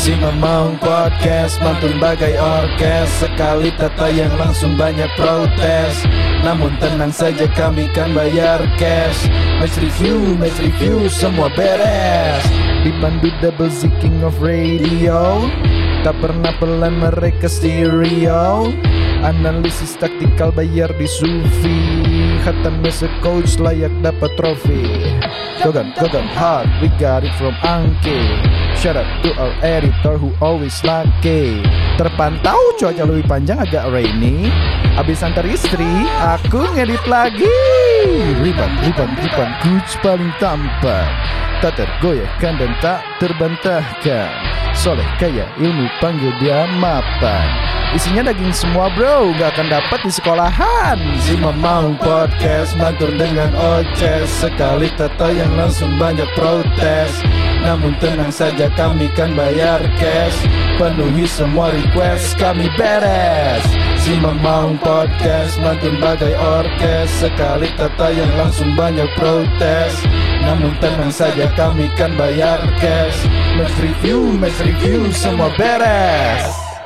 Si Mamang Podcast mantun bagai orkes, sekali tayang langsung banyak protes. Namun tenang saja kami kan bayar cash. Match review semua beres. Dipandu double Z King of Radio, tak pernah pelan mereka stereo. Analisis taktikal bayar di Sufi, khatam as a coach layak dapat trofi. Gogan hard, we got it from Angke. Shout out to our editor who always lucky. Terpantau cuaca lebih panjang agak rainy. Abis antar istri, aku ngedit lagi. Riban, coach paling tampan, tak tergoyahkan dan tak terbantahkan. Soleh kaya ilmu panggil dia mapan. Isinya daging semua bro, gak akan dapat di sekolahan. Si Mamang Podcast mantur dengan oces, sekali tayang langsung banyak protes. Namun tenang saja kami kan bayar cash, penuhi semua request kami beres. Si Mamang Podcast mantur bagai orkes, sekali tayang langsung banyak protes. Namun tenang saja kami kan bayar cash. Match review semua beres.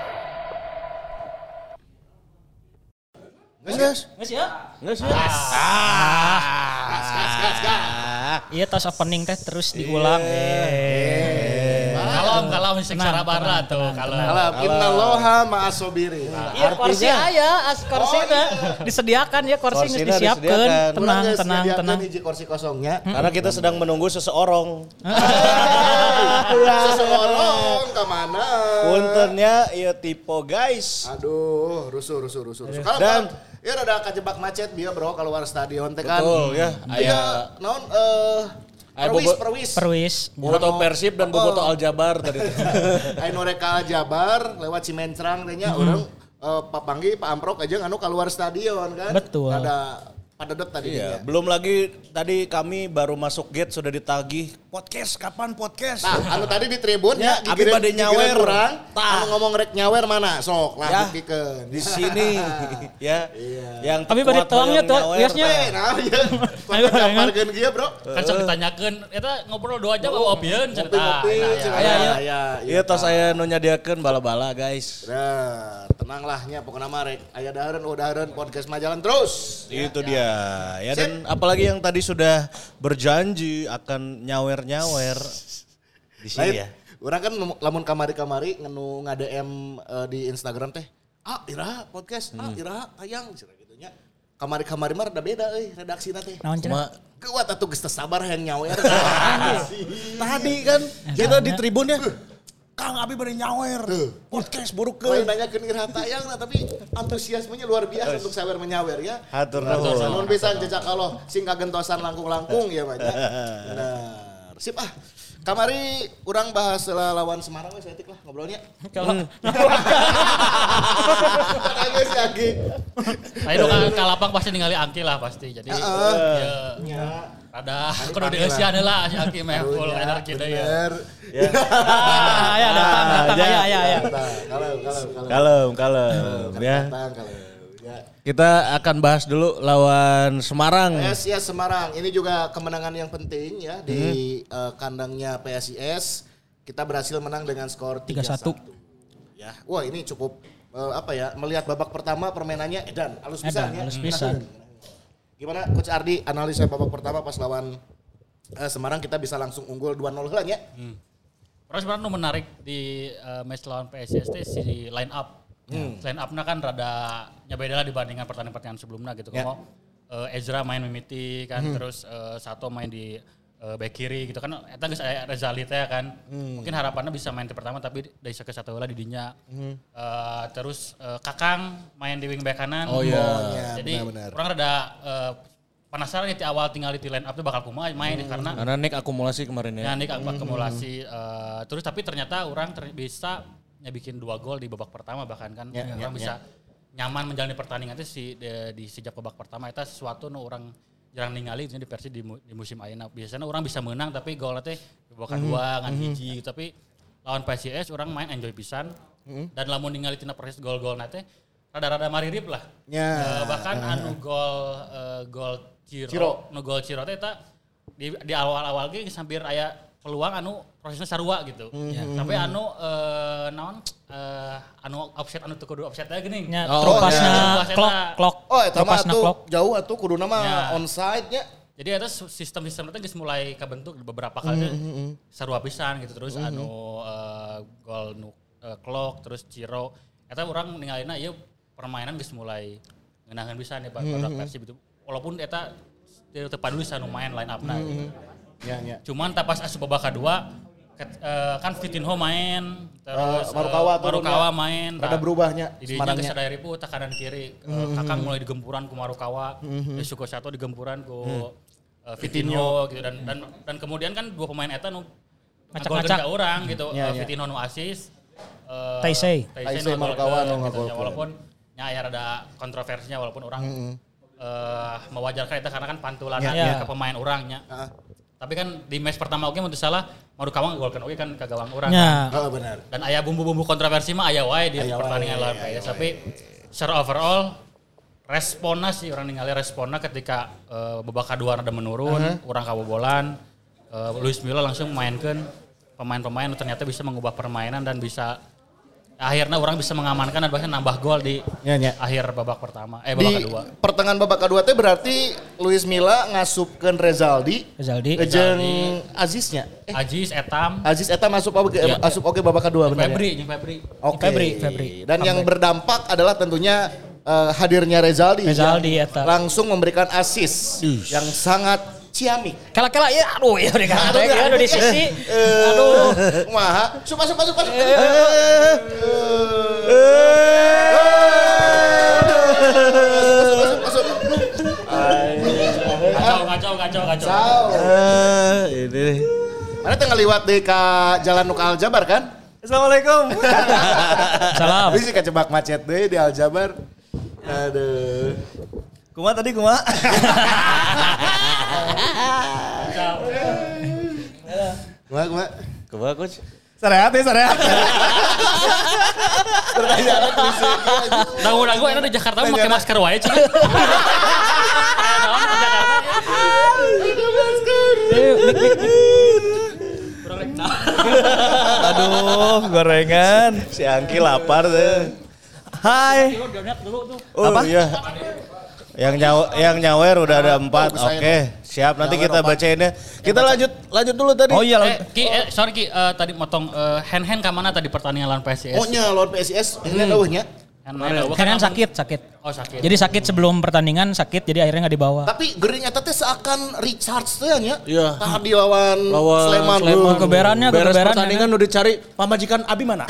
Nges ya? Iya tos opening teh terus diulang. Kalau secara barat tuh kalau Innaloha ma'asobiri. Iya kursi aya, kursi teh disediakan ya, kursi geus disiapkeun. Tenang. Hiji kursi kosongnya. Karena kita sedang menunggu seseorang. Seseorang ke mana? Puntennya ieu tipe guys. Aduh, rusuh. Dan ya rada kajebak macet bieu bro keluar stadion teh kan. betul ya. Aya naon Perwis. Boboto Persib dan Boboto Aljabar tadi. Aya Noreka Jabar lewat Cimencrang teh nya urang Pak Panggi Pak Amprok aja anu keluar stadion kan. Betul. Ada padat tadi Iya, belum lagi tadi kami baru masuk gate sudah ditagih podcast, kapan podcast? Nah, anu tadi di tribun ya, abi bade nyawer urang. Anu ngomong rek nyawer mana? Sok lah ya, buktikeun. di sini ya. Iya. Yang Tapi bade tuangnya tuh biasanya. Nah, ya. Pamarkeun kieu, Bro. kan sok ditanyakeun eta ngobrol 2 jam opieun cerita. Iya, tos aya nu nyadiakeun bala-bala guys. Nah, tenanglah nya pokona mah rek aya dahareun podcast mah jalan terus. Itu dia. Ya dan apalagi yang tadi sudah berjanji akan nyawer-nyawer di sini ya. Urang kan lamun kamari-kamari ngenu nge-DM di Instagram teh. Ira podcast, Ira tayang cenah kitu nya. Kamari-kamari mah rada beda euy redaksina teh. Naon cenah? Kuat atuh geus sabar hayang nyawer. Tadi kan kita di tribun ya. Kang Abi bari nyawer. Podcast buruk ke. Lain nanyakeun Ira tayang nah tapi antusiasmenya luar biasa untuk sawer menyawer ya. Hatur nuhun. Nuhun pisan jejak Allah sing kagentosan langkung-langkung ya banyak. Benar. Sip ah. Kamari urang bahas lawan Semarang we saeutik lah ngobrolnya. Kalau Ada si Agi. Ayo ka lapang pasti ningali Angki lah pasti. Jadi ya ada kudu dieusian heula si Angki mah full energi deui ya. ya datang ya. Kalem ya. Kita akan bahas dulu lawan Semarang. PSIS Semarang ini juga kemenangan yang penting ya di kandangnya PSIS. Kita berhasil menang dengan skor 3-1. Ya, wah ini cukup melihat babak pertama permainannya edan, halus pisan. Gimana Coach Ardi analisa babak pertama pas lawan Semarang kita bisa langsung unggul 2-0 heula nya. Terus sebenarnya menarik di match lawan PSIS si line up. Line up-nya kan rada beda lah dibandingkan pertandingan sebelumnya gitu. Kalau Ezra main Mimiti kan, terus Sato main di back kiri gitu kan. Eta geus aya Rezali teh kan. Mungkin harapannya bisa main di pertama tapi dari sake satu heula di dinya. Terus Kakang main di wing back kanan. Oh iya. Jadi kurang rada penasaran nih di awal tinggal di line up tuh bakal kumaha main karena Nick akumulasi kemarin ya. Ya Nick akumulasi terus tapi ternyata orang bisa bikin 2 gol di babak pertama bahkan kan orang bisa nyaman menjalani pertandingan itu di sejak babak pertama itu sesuatu orang jarang ningali di Persib di musim ayeuna. Biasanya orang bisa menang tapi golnya teh babak kedua ngan hiji tapi lawan PSIS orang main enjoy pisan dan lamun ningali tina proses gol-golna teh rada-rada maririp lah. Bahkan anu gol Ciro teh eta di awal-awal ge hampir aya peluang anu prosesnya sarua gitu. Sampai anu anu offset anu teu kudu offset teh geuning. Nya tropasna clock. Oh eta mah atuh jauh atuh kuduna mah onside nya. Jadi ada sistem-sistem itu geus mulai kabentuk beberapa kali sarua pisan gitu terus anu gol nu clock terus Ciro eta urang ningalina ieu permainan geus mulai ngeunaheun pisan ya pada Persib itu. Walaupun eta teu paduli anu main line up-na gitu. Ya. Cuman pas asup babak kedua kan Vitinho main terus Marukawa main rada berubahnya Semarangnya geus sadaya ribu teh kanan kiri Kakang mulai digempuran ku Marukawa Suko Sato digempuran ku Vitinho gitu dan kemudian kan dua pemain eta nu ngagolkeun ka urang gitu Vitinho nu asis Taisei Marukawa nu ngagolkeun walaupun nya aya rada kontroversinya walaupun orang mewajarkan itu karena kan pantulannya ke pemain orangnya. Tapi kan di match pertama oke menurut salah Marukawa ngegolkeun oke kan ke gawang orang. Oh benar. Dan aya bumbu-bumbu kontroversi mah aya wae di pertandingan lawan PS. Tapi secara overall responnya sih orang ningali responnya ketika babak kedua ada menurun, orang kabobolan, Luis Milla langsung mainkan pemain-pemain ternyata bisa mengubah permainan dan bisa akhirnya orang bisa mengamankan dan bahkan nambah gol di akhir babak pertama babak kedua. Pertengahan babak kedua teh berarti Luis Milla ngasupkeun Rezaldi jeung Aziznya. Aziz Etam asup oke babak kedua benar. Febri. Febri. Dan yang berdampak adalah tentunya hadirnya Rezaldi eta langsung memberikan assist yang sangat ciamik. Kala-kala ya aduh ya udah di sisi. Aduh. Kumaha? Masuk. Kacau. Ini. Mana tengah liwat di ka Jalan Nuka Aljabar kan? Assalamualaikum. Salam. Bisa kecebak macet deh di Aljabar. Aduh. Kumaha. Kumaha coach. Sarehat. Dangu enak di Jakarta pakai masker wae cing. Aduh, gorengan. Si Angki lapar deh. Hai. Apa? Iya. Yang nyawer udah ada 4. Oke, siap. Nanti kita bacainnya. Kita lanjut dulu tadi. Oh iya, sorry Ki, tadi motong hand ka mana tadi pertandingan lawan PSIS? Oh nya lawan PSIS, ini eueuhnya. Kan sakit. Oh sakit. Jadi sakit sebelum pertandingan sakit jadi akhirnya nggak dibawa. Tapi gering eta teh seakan Richards teh nya. Iya. Tah di lawan Sleman. Keberannya pertandingan udah dicari pamajikan Abi mana?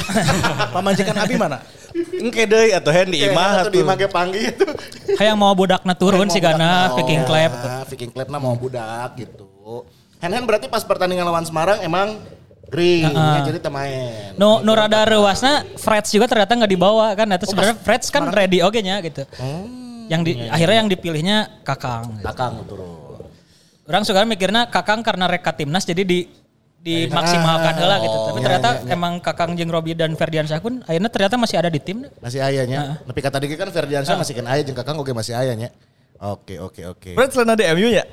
Engke deui atuh hen di imah atuh. Di imah ge panggih itu. Kayak mau budakna turun sih karena Viking Club. Viking Club mah mau budak gitu. Hen berarti pas pertandingan lawan Semarang emang green jadi temain. No rada rewasna Freds juga ternyata nggak dibawa kan. Itu sebenarnya Freds kan ready oke nya gitu. Akhirnya yang dipilihnya Kakang turun. Orang suka mikirnya Kakang karena reka timnas jadi dimaksimalkan heula gitu. Tapi ternyata emang Kakang jeung Robi dan Ferdiansyah pun akhirnya ternyata masih ada di tim. Masih aya nya. Tapi kata dia kan Ferdiansyah masih kan aya jeung Kakang oge masih aya nya. Oke. Berarti selain ada MU ya?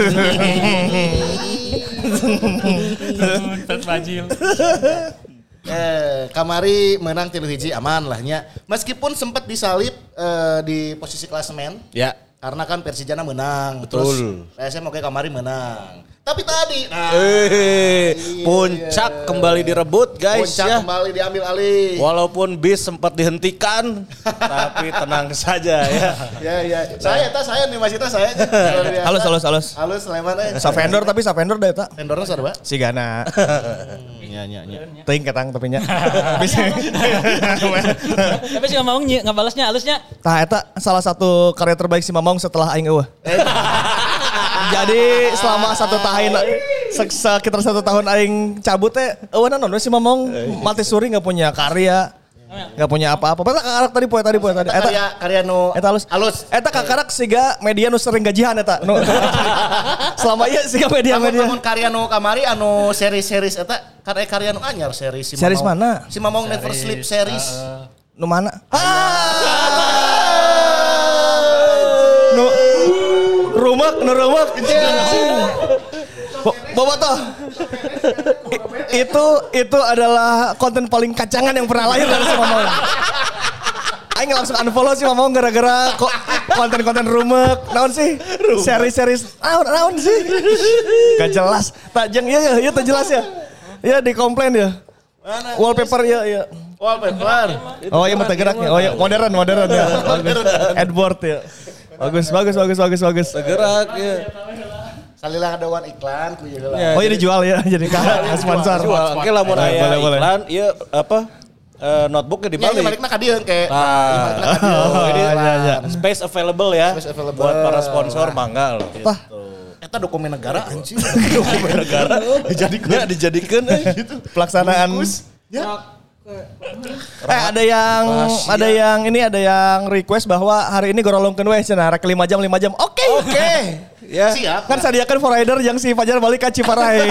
Fajil. Kamari menang 3-1 aman lah nya. Meskipun sempat disalip di posisi klasemen. Ya. Karena kan Persijana menang. Betul. Terus PSM oke Kamari menang. Tapi tadi puncak kembali direbut guys. Puncak kembali diambil alih. Walaupun bis sempat dihentikan tapi tenang saja ya. Ya. Saya nih Mas Ita saya. Halus. Halus Sleman Sa vendor da eta. Vendorna sarua? Sigana. Nya. Teuing ketang tapi nya. Tapi si Mamong ngabalasnya halusnya. Tah eta salah satu karya terbaik si Mamong setelah aing eueuh. Jadi selama sekitar 1 tahun aing cabut teh eueuh naon si Mamong mati suri enggak punya karya. Enggak punya apa-apa. Padahal kakarak tadi poe tadi. Eta karya nu eta halus. Eta kakarak siga media nu sering gajihan eta. Selama ieu siga media. Namun karya nu kamari anu series eta karya nu anyar series si Mamong. Series mana? Si Mamong Never Sleep series. Nu mana? Nu rumak. Bobotoh. Itu adalah konten paling kacangan yang pernah lahir dari si Mamong. Aing langsung unfollow si Mamong gara-gara konten-konten rumek. Naon sih? Seri-seri naon sih? Gak jelas. Tak jeng iya tak jelas ya. Iya dikomplain ya. Mana? Wallpaper ya. Wallpaper. Oh iya mata geraknya. Oh iya modern ya. Adboard ya. Bagus. Tergerak ya. Salilah ada one iklan ku ieu Ya, Oh iya dijual ya jadi sponsor. Jual. Oke lamun aya Boleh. iklan ieu apa notebooknya Nya dibalik. balikna ka dieu ke. Jadi iya. space available ya. Space available. Buat para sponsor mangga loh. Tah. Eta dokumen negara anjing. Dokumen negara dijadikan gitu. Pelaksanaan. Ya. Ada yang request bahwa hari ini gorolongkeun we cenah rek 5 jam. Oke. Ya. Siap. Kan sadiakan for rider yang si Fajar balik ka Ciparai.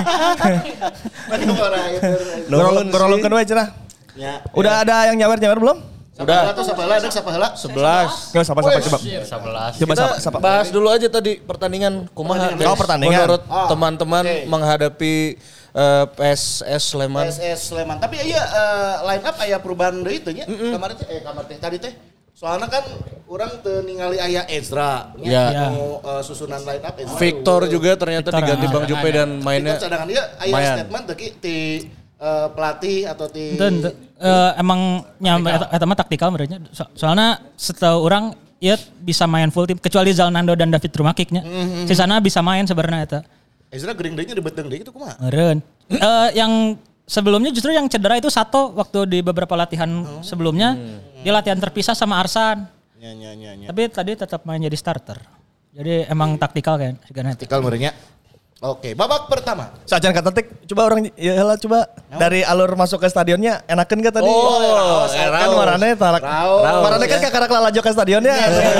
Gorolongkeun we cenah. Ya. Udah ada yang nyawer belum? Udah. Sapaheula ada sapaheula. 11. Nggak sapa coba. 11. Coba Kita sapa. bahas dulu aja tadi pertandingan kumaha. Oh, pertandingan. Menurut Oh, teman-teman oke. menghadapi PSS Sleman. PSS Sleman. Tapi iya line up aya perubahan deui teh nya. Kamari teh tadi teh. Soalnya kan orang teu ningali aya Ezra. Ya. Susunan line up Ezra. Victor juga ternyata Victor, diganti Bang Jupe dan mainnya Itu cadangan dia aya lumayan. statement teh ti pelatih atau ti Ente, emang nyampe eta mah taktikal merenya. Soalnya setahu orang ieu bisa main full tim kecuali Zalnando dan David Rumakiknya. Sisana bisa main sebenarnya eta. Ezra gering deui nya dibeteng deui itu kumaha? Meureun. Yang sebelumnya justru yang cedera itu Sato waktu di beberapa latihan sebelumnya dia latihan terpisah sama Arsan. Nya. Tapi tadi tetap main jadi starter. Jadi emang taktikal kan segala nanti. Taktikal merenya. Oke, babak pertama. Sajan kata tik, coba orang ya lah coba dari alur masuk ke stadionnya enakeun gak tadi? Kan warnanya tarak. Warnanya kan kakak lalajo ke stadionnya.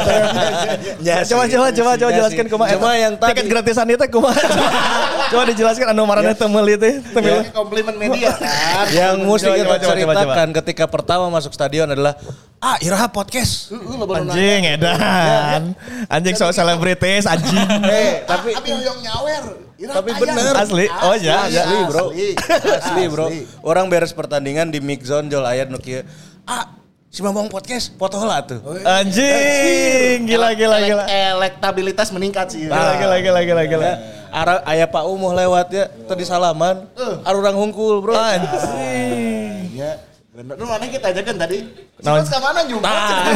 Coba jelaskan kumaha. Cuma yang tadi tiket gratisan itu kumaha. Coba dijelaskan anu marane teu meuli teh. Ini komplimen media kan. yang mesti kita coba. ceritakan ketika pertama masuk stadion adalah Iraha podcast. Anjing edan. Anjing sok selebritis anjing. Tapi yang nyawer. Tapi bener. Asli. Oh ya. Asli bro. Asli bro. Asli. Orang beres pertandingan di mix zone jol ayat nu kieu. Si Mamong podcast foto lah tuh. Anjing. Gila. Elektabilitas meningkat sih. Gila. Aya Pak Umuh lewat ya, tadi salaman. Arurang hungkul bro. Anjing. Ya. Bener. Lu mana kita aja kan tadi? Naon? Ke mana juga?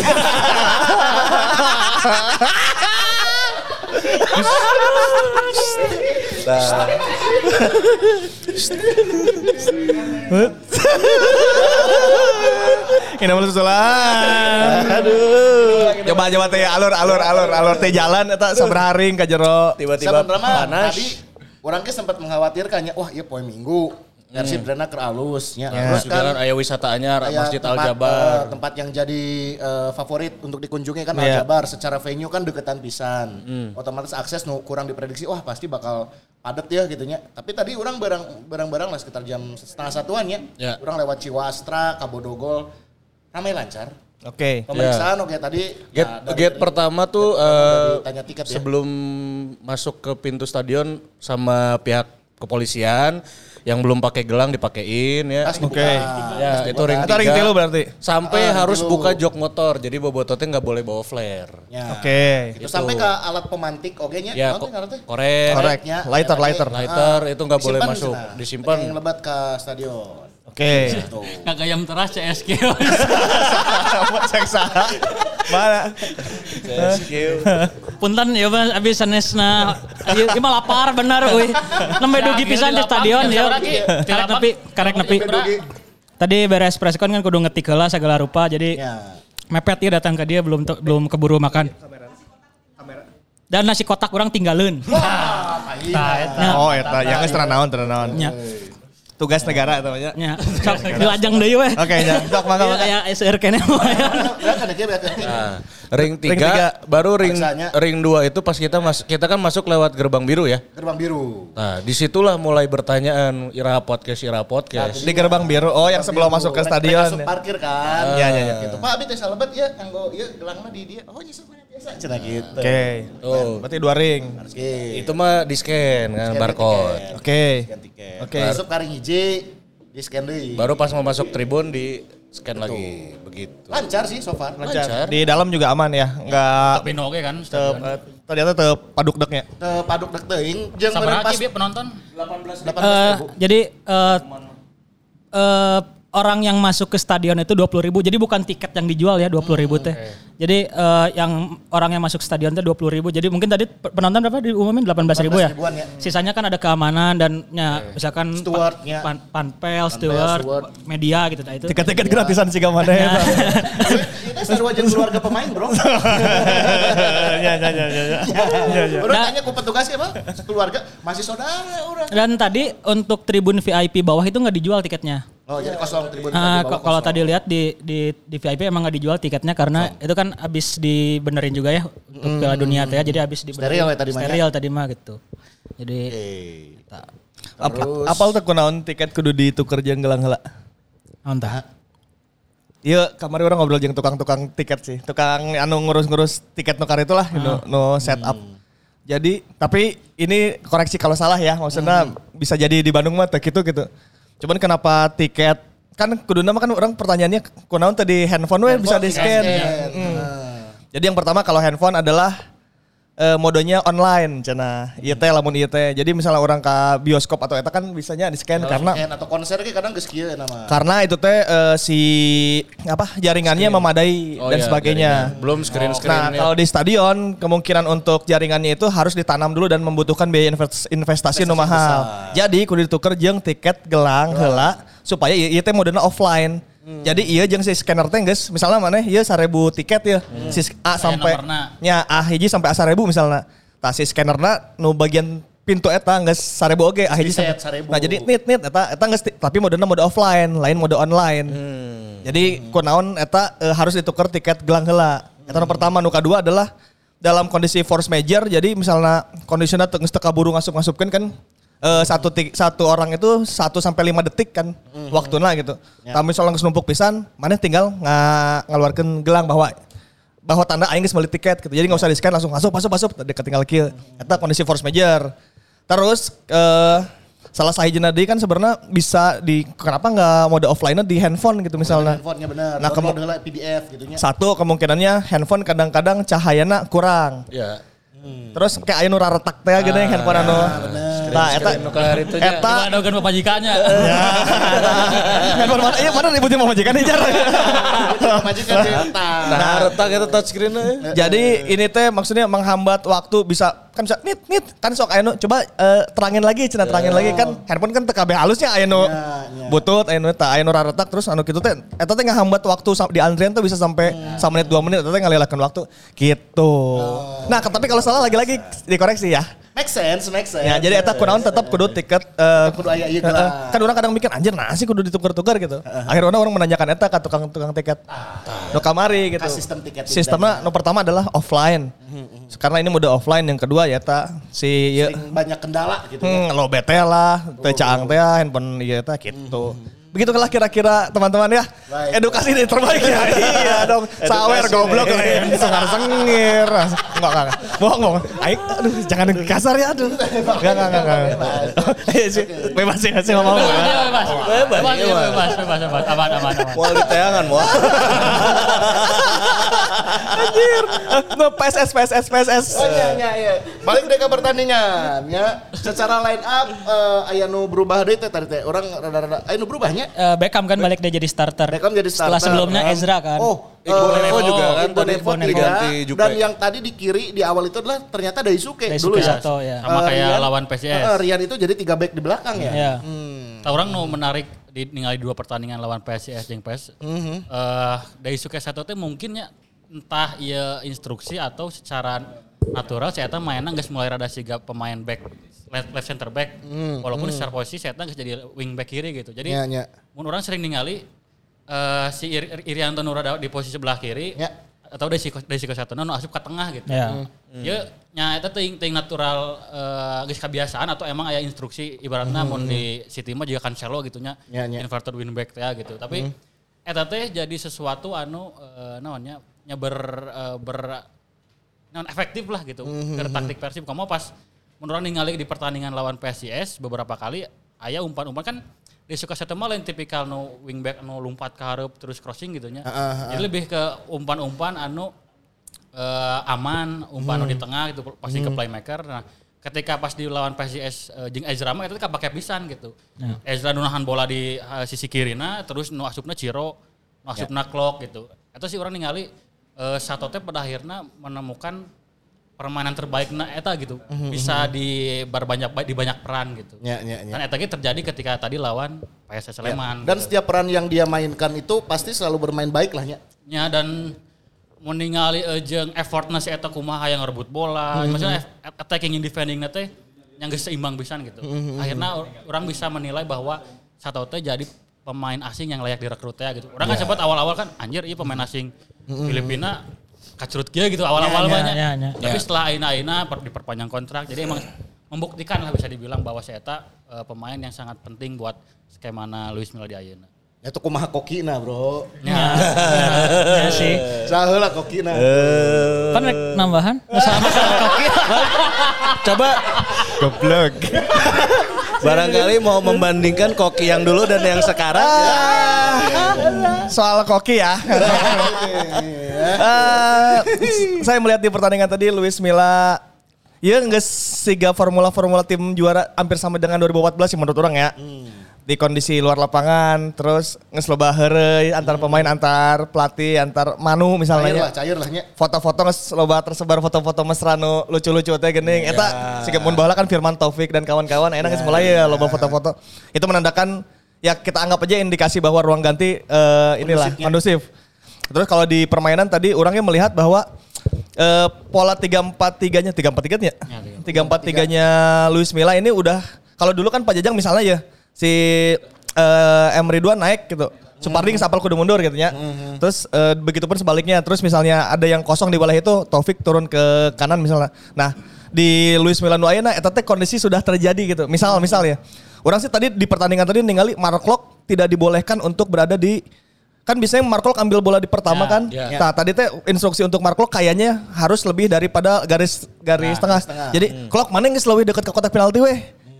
Ini malu susulan. Aduh. Coba teh alur teh jalan eta sabraharing ka jero. Tiba-tiba Sebenarnya panas. tadi orang ke sempat mengkhawatirkannya, wah iya poe Minggu. Persib drena keur alusnya. Terus juga kan aya wisata anyar Masjid Al-Jabar. Tempat yang jadi favorit untuk dikunjungi kan Al-Jabar. Secara venue kan deketan pisan. Otomatis akses kurang diprediksi, wah pasti bakal padat ya gitunya. Tapi tadi orang barang-barang lah sekitar jam 12:30-an ya. Orang lewat Ciwastra, Kabodogol, ramai lancar. Oke. Pemeriksaan oke tadi. Gate pertama tuh tanya tiket ya. sebelum masuk ke pintu stadion sama pihak kepolisian yang belum pakai gelang dipakein ya. Oke. Ya, itu ring Itu ring 3. tilu berarti. Sampai harus buka jok motor. Jadi bobototnya nggak boleh bawa flare. Ya. Oke. Itu sampai ke alat pemantik oke nya. Ya, korek. Koreknya. Lighter itu nggak boleh Disimpan masuk. cenah. Disimpan. Yang lebat ke stadion. Oke. Kagak yang teras CSK. Seksa. Mana? Punten ya Bang abis sanesna ieu mah lapar bener euy. Nembe dugi pisan di stadion ya. Karek nepi. Tadi beres press con kan kudu ngetik heula segala rupa jadi mepet ya datang ke dia belum keburu makan. Dan nasi kotak orang tinggalin. Oh eta yang geus teranaon. Ya. Tugas negara eta nya. Ya. Sok dilajang deui weh. Oke, nya. Sok mangga. Ya SR kene. Ring 3, baru ring 2 itu pas kita kan masuk lewat gerbang biru ya. Gerbang biru. Nah, disitulah mulai bertanyaan Ira podcast. Di gerbang biru. Oh, yang sebelum masuk ke stadion. Masuk parkir kan. Iya. Gitu. Pak abi teh salebet ya kanggo ieu gelangna di dia. Oh, nyesel mana biasa cenah gitu. Oke. Tuh. Berarti 2 ring. Itu mah di-scan kan barcode. Oke. Oke. Masuk ka ring hiji di scan deui. Baru pas mau masuk tribun di scan lagi begitu. Lancar sih so far. Lancar. Di dalam juga aman ya. Enggak Tapi oke kan. ternyata paduk deknya. Teu paduk dek teuing jeung Sabaraha pas ki penonton? 18.000. Jadi orang yang masuk ke stadion itu 20.000. Jadi bukan tiket yang dijual ya 20.000 teh. Jadi yang orang yang masuk stadion teh 20.000. Jadi mungkin tadi penonton berapa diumumin 18.000 ya? Ya. Sisanya kan ada keamanan dan misalkan Stewardnya. panpel, steward, media gitu. Nah, itu. Tiket-tiket gratisan sih mana ya. Ini seru aja keluarga pemain, Bro. Ya. Udah tanya ku petugasnya, Bang. Keluarga masih saudara orang. Dan tadi untuk tribun VIP bawah itu nggak dijual tiketnya. Oh, jadi kosong tribun Kalau tadi lihat di VIP emang nggak dijual tiketnya karena itu kan abis dibenerin juga ya untuk Piala Dunia teh, jadi abis dibenerin. Steril tadi mah gitu. Jadi Apal teh kunaon tiket kudu dituker jeung gelang heula. naon tah? Iya, kamari orang ngobrol jeung tukang-tukang tiket sih. Tukang anu ngurus-ngurus tiket nukar itulah, no setup. Jadi, tapi ini koreksi kalau salah ya, maksudnya bisa jadi di Bandung mah teh gitu. Cuman kenapa tiket kan kuduna mah kan orang pertanyaannya kunaon tadi handphone we bisa di-scan. Jadi yang pertama kalau handphone adalah modenya online cenah. Ieu teh lamun ieu teh. Jadi misalnya orang ke bioskop atau eta kan bisanya di-scan karena atau konser ge kadang geus kieu nama. karena itu teh jaringannya memadai dan sebagainya. Jaringan. Belum screen. Nah, kalau di stadion kemungkinan untuk jaringannya itu harus ditanam dulu dan membutuhkan biaya investasi nu mahal. Jadi kudu dituker jeung tiket gelang heula supaya ieu teh modena offline. Jadi iya jeung si scanner teh geus misalnya maneh ieu 1.000 tiket ya. Si A sampai nya A hiji sampai A 1.000 misalnya. Tah si scannerna nu bagian pintu eta geus 1.000 oge A hiji sampai. Nah jadi nit eta geus tapi modena mode offline, lain mode online. Jadi kunaon eta harus ditukar tiket gelang heula. Eta nu pertama, nu kadua adalah dalam kondisi force major. Jadi misalnya kondisinya geus teu kaburu ngasup-ngasupkeun kan satu orang itu 1 sampai 5 detik kan waktunya gitu. Tapi misalnya geus numpuk pisan, maneh tinggal ngaluarkeun gelang bahwa tanda aing geus meuli tiket gitu. Jadi enggak usah di-scan langsung masuk deket tinggal kieu. Eta kondisi force major. Terus salah sahijina deui kan sebenarnya bisa kenapa enggak mode offline-nya di handphone gitu misalnya. Handphonenya benar. Nah, download PDF gitunya. Satu kemungkinannya handphone kadang-kadang cahayana kurang. Ya. Terus kayak aya nu raretak teh geuning handphone anu. Nah, eta Adogan pemajikannya. handphone mana? Iya, mana ributin pemajikan nih, Jar. Pemajikan Nah, retak itu touchscreen-nya. Jadi ini teh maksudnya menghambat waktu bisa nit kan sok aya nu coba terangin lagi kan handphone kan teu kabeh halusnya aya nu butut aya nu raretak terus anu kitu teh eta teh ngahambat waktu di antrian tuh bisa sampai 1 menit 2 menit eta teh ngalelahkeun waktu gitu. Nah, tapi kalau salah lagi-lagi dikoreksi ya. Make sense. Ya, jadi eta kunaon tetap kudu tiket kudu aya ieu gelang. kan orang kadang mikir anjir sih kudu ditukar-tukar gitu. Akhirnya orang menanyakan eta ke tukang tiket. Nu kamari gitu. Sistem tiket. Sistemnya nu pertama adalah offline. Karena ini mode offline, yang kedua ya eta banyak kendala gitu. Lo bete lah, teu caang teh handphone ieu eta gitu. Begitulah kira-kira teman-teman ya. Baik. Edukasi ini terbaik ya. Iya dong. Sawer goblok lain sengar-sengir. Enggak. Bohong. Aduh jangan kasar ya aduh. Enggak. Bebas ya sih ngomong. Bebas. Aman. Moal di teangan moal. Anjir. No PSS. Oh iya. Balik deh ke pertandingan ya. Secara line up aya nu berubah deui teh tadi teh. Orang rada-rada aya nu berubahnya. Beckham kan balik dia jadi starter. Setelah sebelumnya Ezra kan. Iqbal juga kan tadi diganti juga. Dan yang tadi di kiri di awal itu adalah ternyata Daisuke dulu ya. Sama kayak lawan PSIS. Rian itu jadi 3 back di belakang ya. Iya. Orang nu menarik ningali 2 pertandingan lawan PSIS jeung PS. Daisuke satu teh mungkinnya entah ieu instruksi atau secara natural saya mainnya geus mulai rada siga pemain back left center back walaupun secara posisi saya geus jadi wing back kiri gitu. Jadi mun orang sering ningali si Irianto Nurada di posisi sebelah kiri atau dari siko satuna nu asup ke tengah gitu. Ya nya eta teuing natural geus kebiasaan atau emang aya instruksi ibaratna mun di City mah juga Cancelo gitu nya inverted wingback teh gitu. Tapi eta teh jadi sesuatu anu naonnya nya non efektif lah gitu ke taktik Persib. Kamu pas menurut ningali di pertandingan lawan PSIS beberapa kali aya umpan-umpan kan di Sukasatema lain tipikal nu wingback nu lompat ke hareup terus crossing gitu nya. Jadi lebih ke umpan-umpan anu aman, umpan anu di tengah gitu pasti ke playmaker. Nah, ketika pas di lawan PSIS jeung Ezra mah eta teh kapake pisan gitu. Ezra nu nahan bola di sisi kirina terus nu asupna Ciro, nu asupna Klok gitu. Eta sih orang ningali Sato teh pada akhirnya menemukan permainan terbaikna eta gitu. Bisa di banyak peran gitu. Dan eta ge terjadi ketika tadi lawan PSS Sleman. Dan setiap peran yang dia mainkan itu pasti selalu bermain baik lah nya. Ya dan mun ningali jeung effortna si eta kumaha yang ngerebut bola, maksudnya attacking and defending teh yang geus seimbang pisan gitu. Akhirnya orang bisa menilai bahwa Sato teh jadi pemain asing yang layak direkrut ya gitu. Orang kan sempat awal-awal kan anjir ieu pemain asing Filipina kacrut kia gitu awal-awal banyak. Tapi setelah aina-aina diperpanjang kontrak jadi emang membuktikan lah bisa dibilang bahwa si eta pemain yang sangat penting buat skemana Luis Milla di ayeuna. Itu kumaha kokina bro. Ya sih. Saheula kokina. Kan nambahan masalah koki. Coba goblok. Barangkali mau membandingkan koki yang dulu dan yang sekarang. Soal koki ya. Saya melihat di pertandingan tadi Luis Milla geus siga formula tim juara hampir sama dengan 2014 sih menurut orang ya. Di kondisi luar lapangan terus geus loba heureuy antar pemain, antar pelatih, antar manu misalnya. Cair lah nya. Foto-foto geus loba tersebar foto-foto mesra nu lucu-lucu teh geuning. Eta siga mun baheula kan Firman Taufik dan kawan-kawan enak geus mulai ya loba foto-foto. Itu menandakan ya kita anggap aja indikasi bahwa ruang ganti kondusif. Terus kalau di permainan tadi orangnya melihat bahwa pola 3-4-3-nya 3-4-3-nya Luis Milla ini udah kalau dulu kan Pak Jajang misalnya ya si Ridwan naik gitu. Supardi sapal kudu mundur gitu ya. Terus begitupun sebaliknya. Terus misalnya ada yang kosong di wilayah itu Taufik turun ke kanan misalnya. Nah, di Luis Milla nu ayeuna eta teh kondisi sudah terjadi gitu. Misal ya. Orang sih tadi di pertandingan tadi ningali Mark Klok tidak dibolehkan untuk berada di kan biasanya Mark Klok ambil bola di pertama kan. Nah, tadi teh instruksi untuk Mark Klok kayaknya harus lebih daripada garis tengah. Jadi Klok mana geus leuwih dekat ke kotak penalti weh.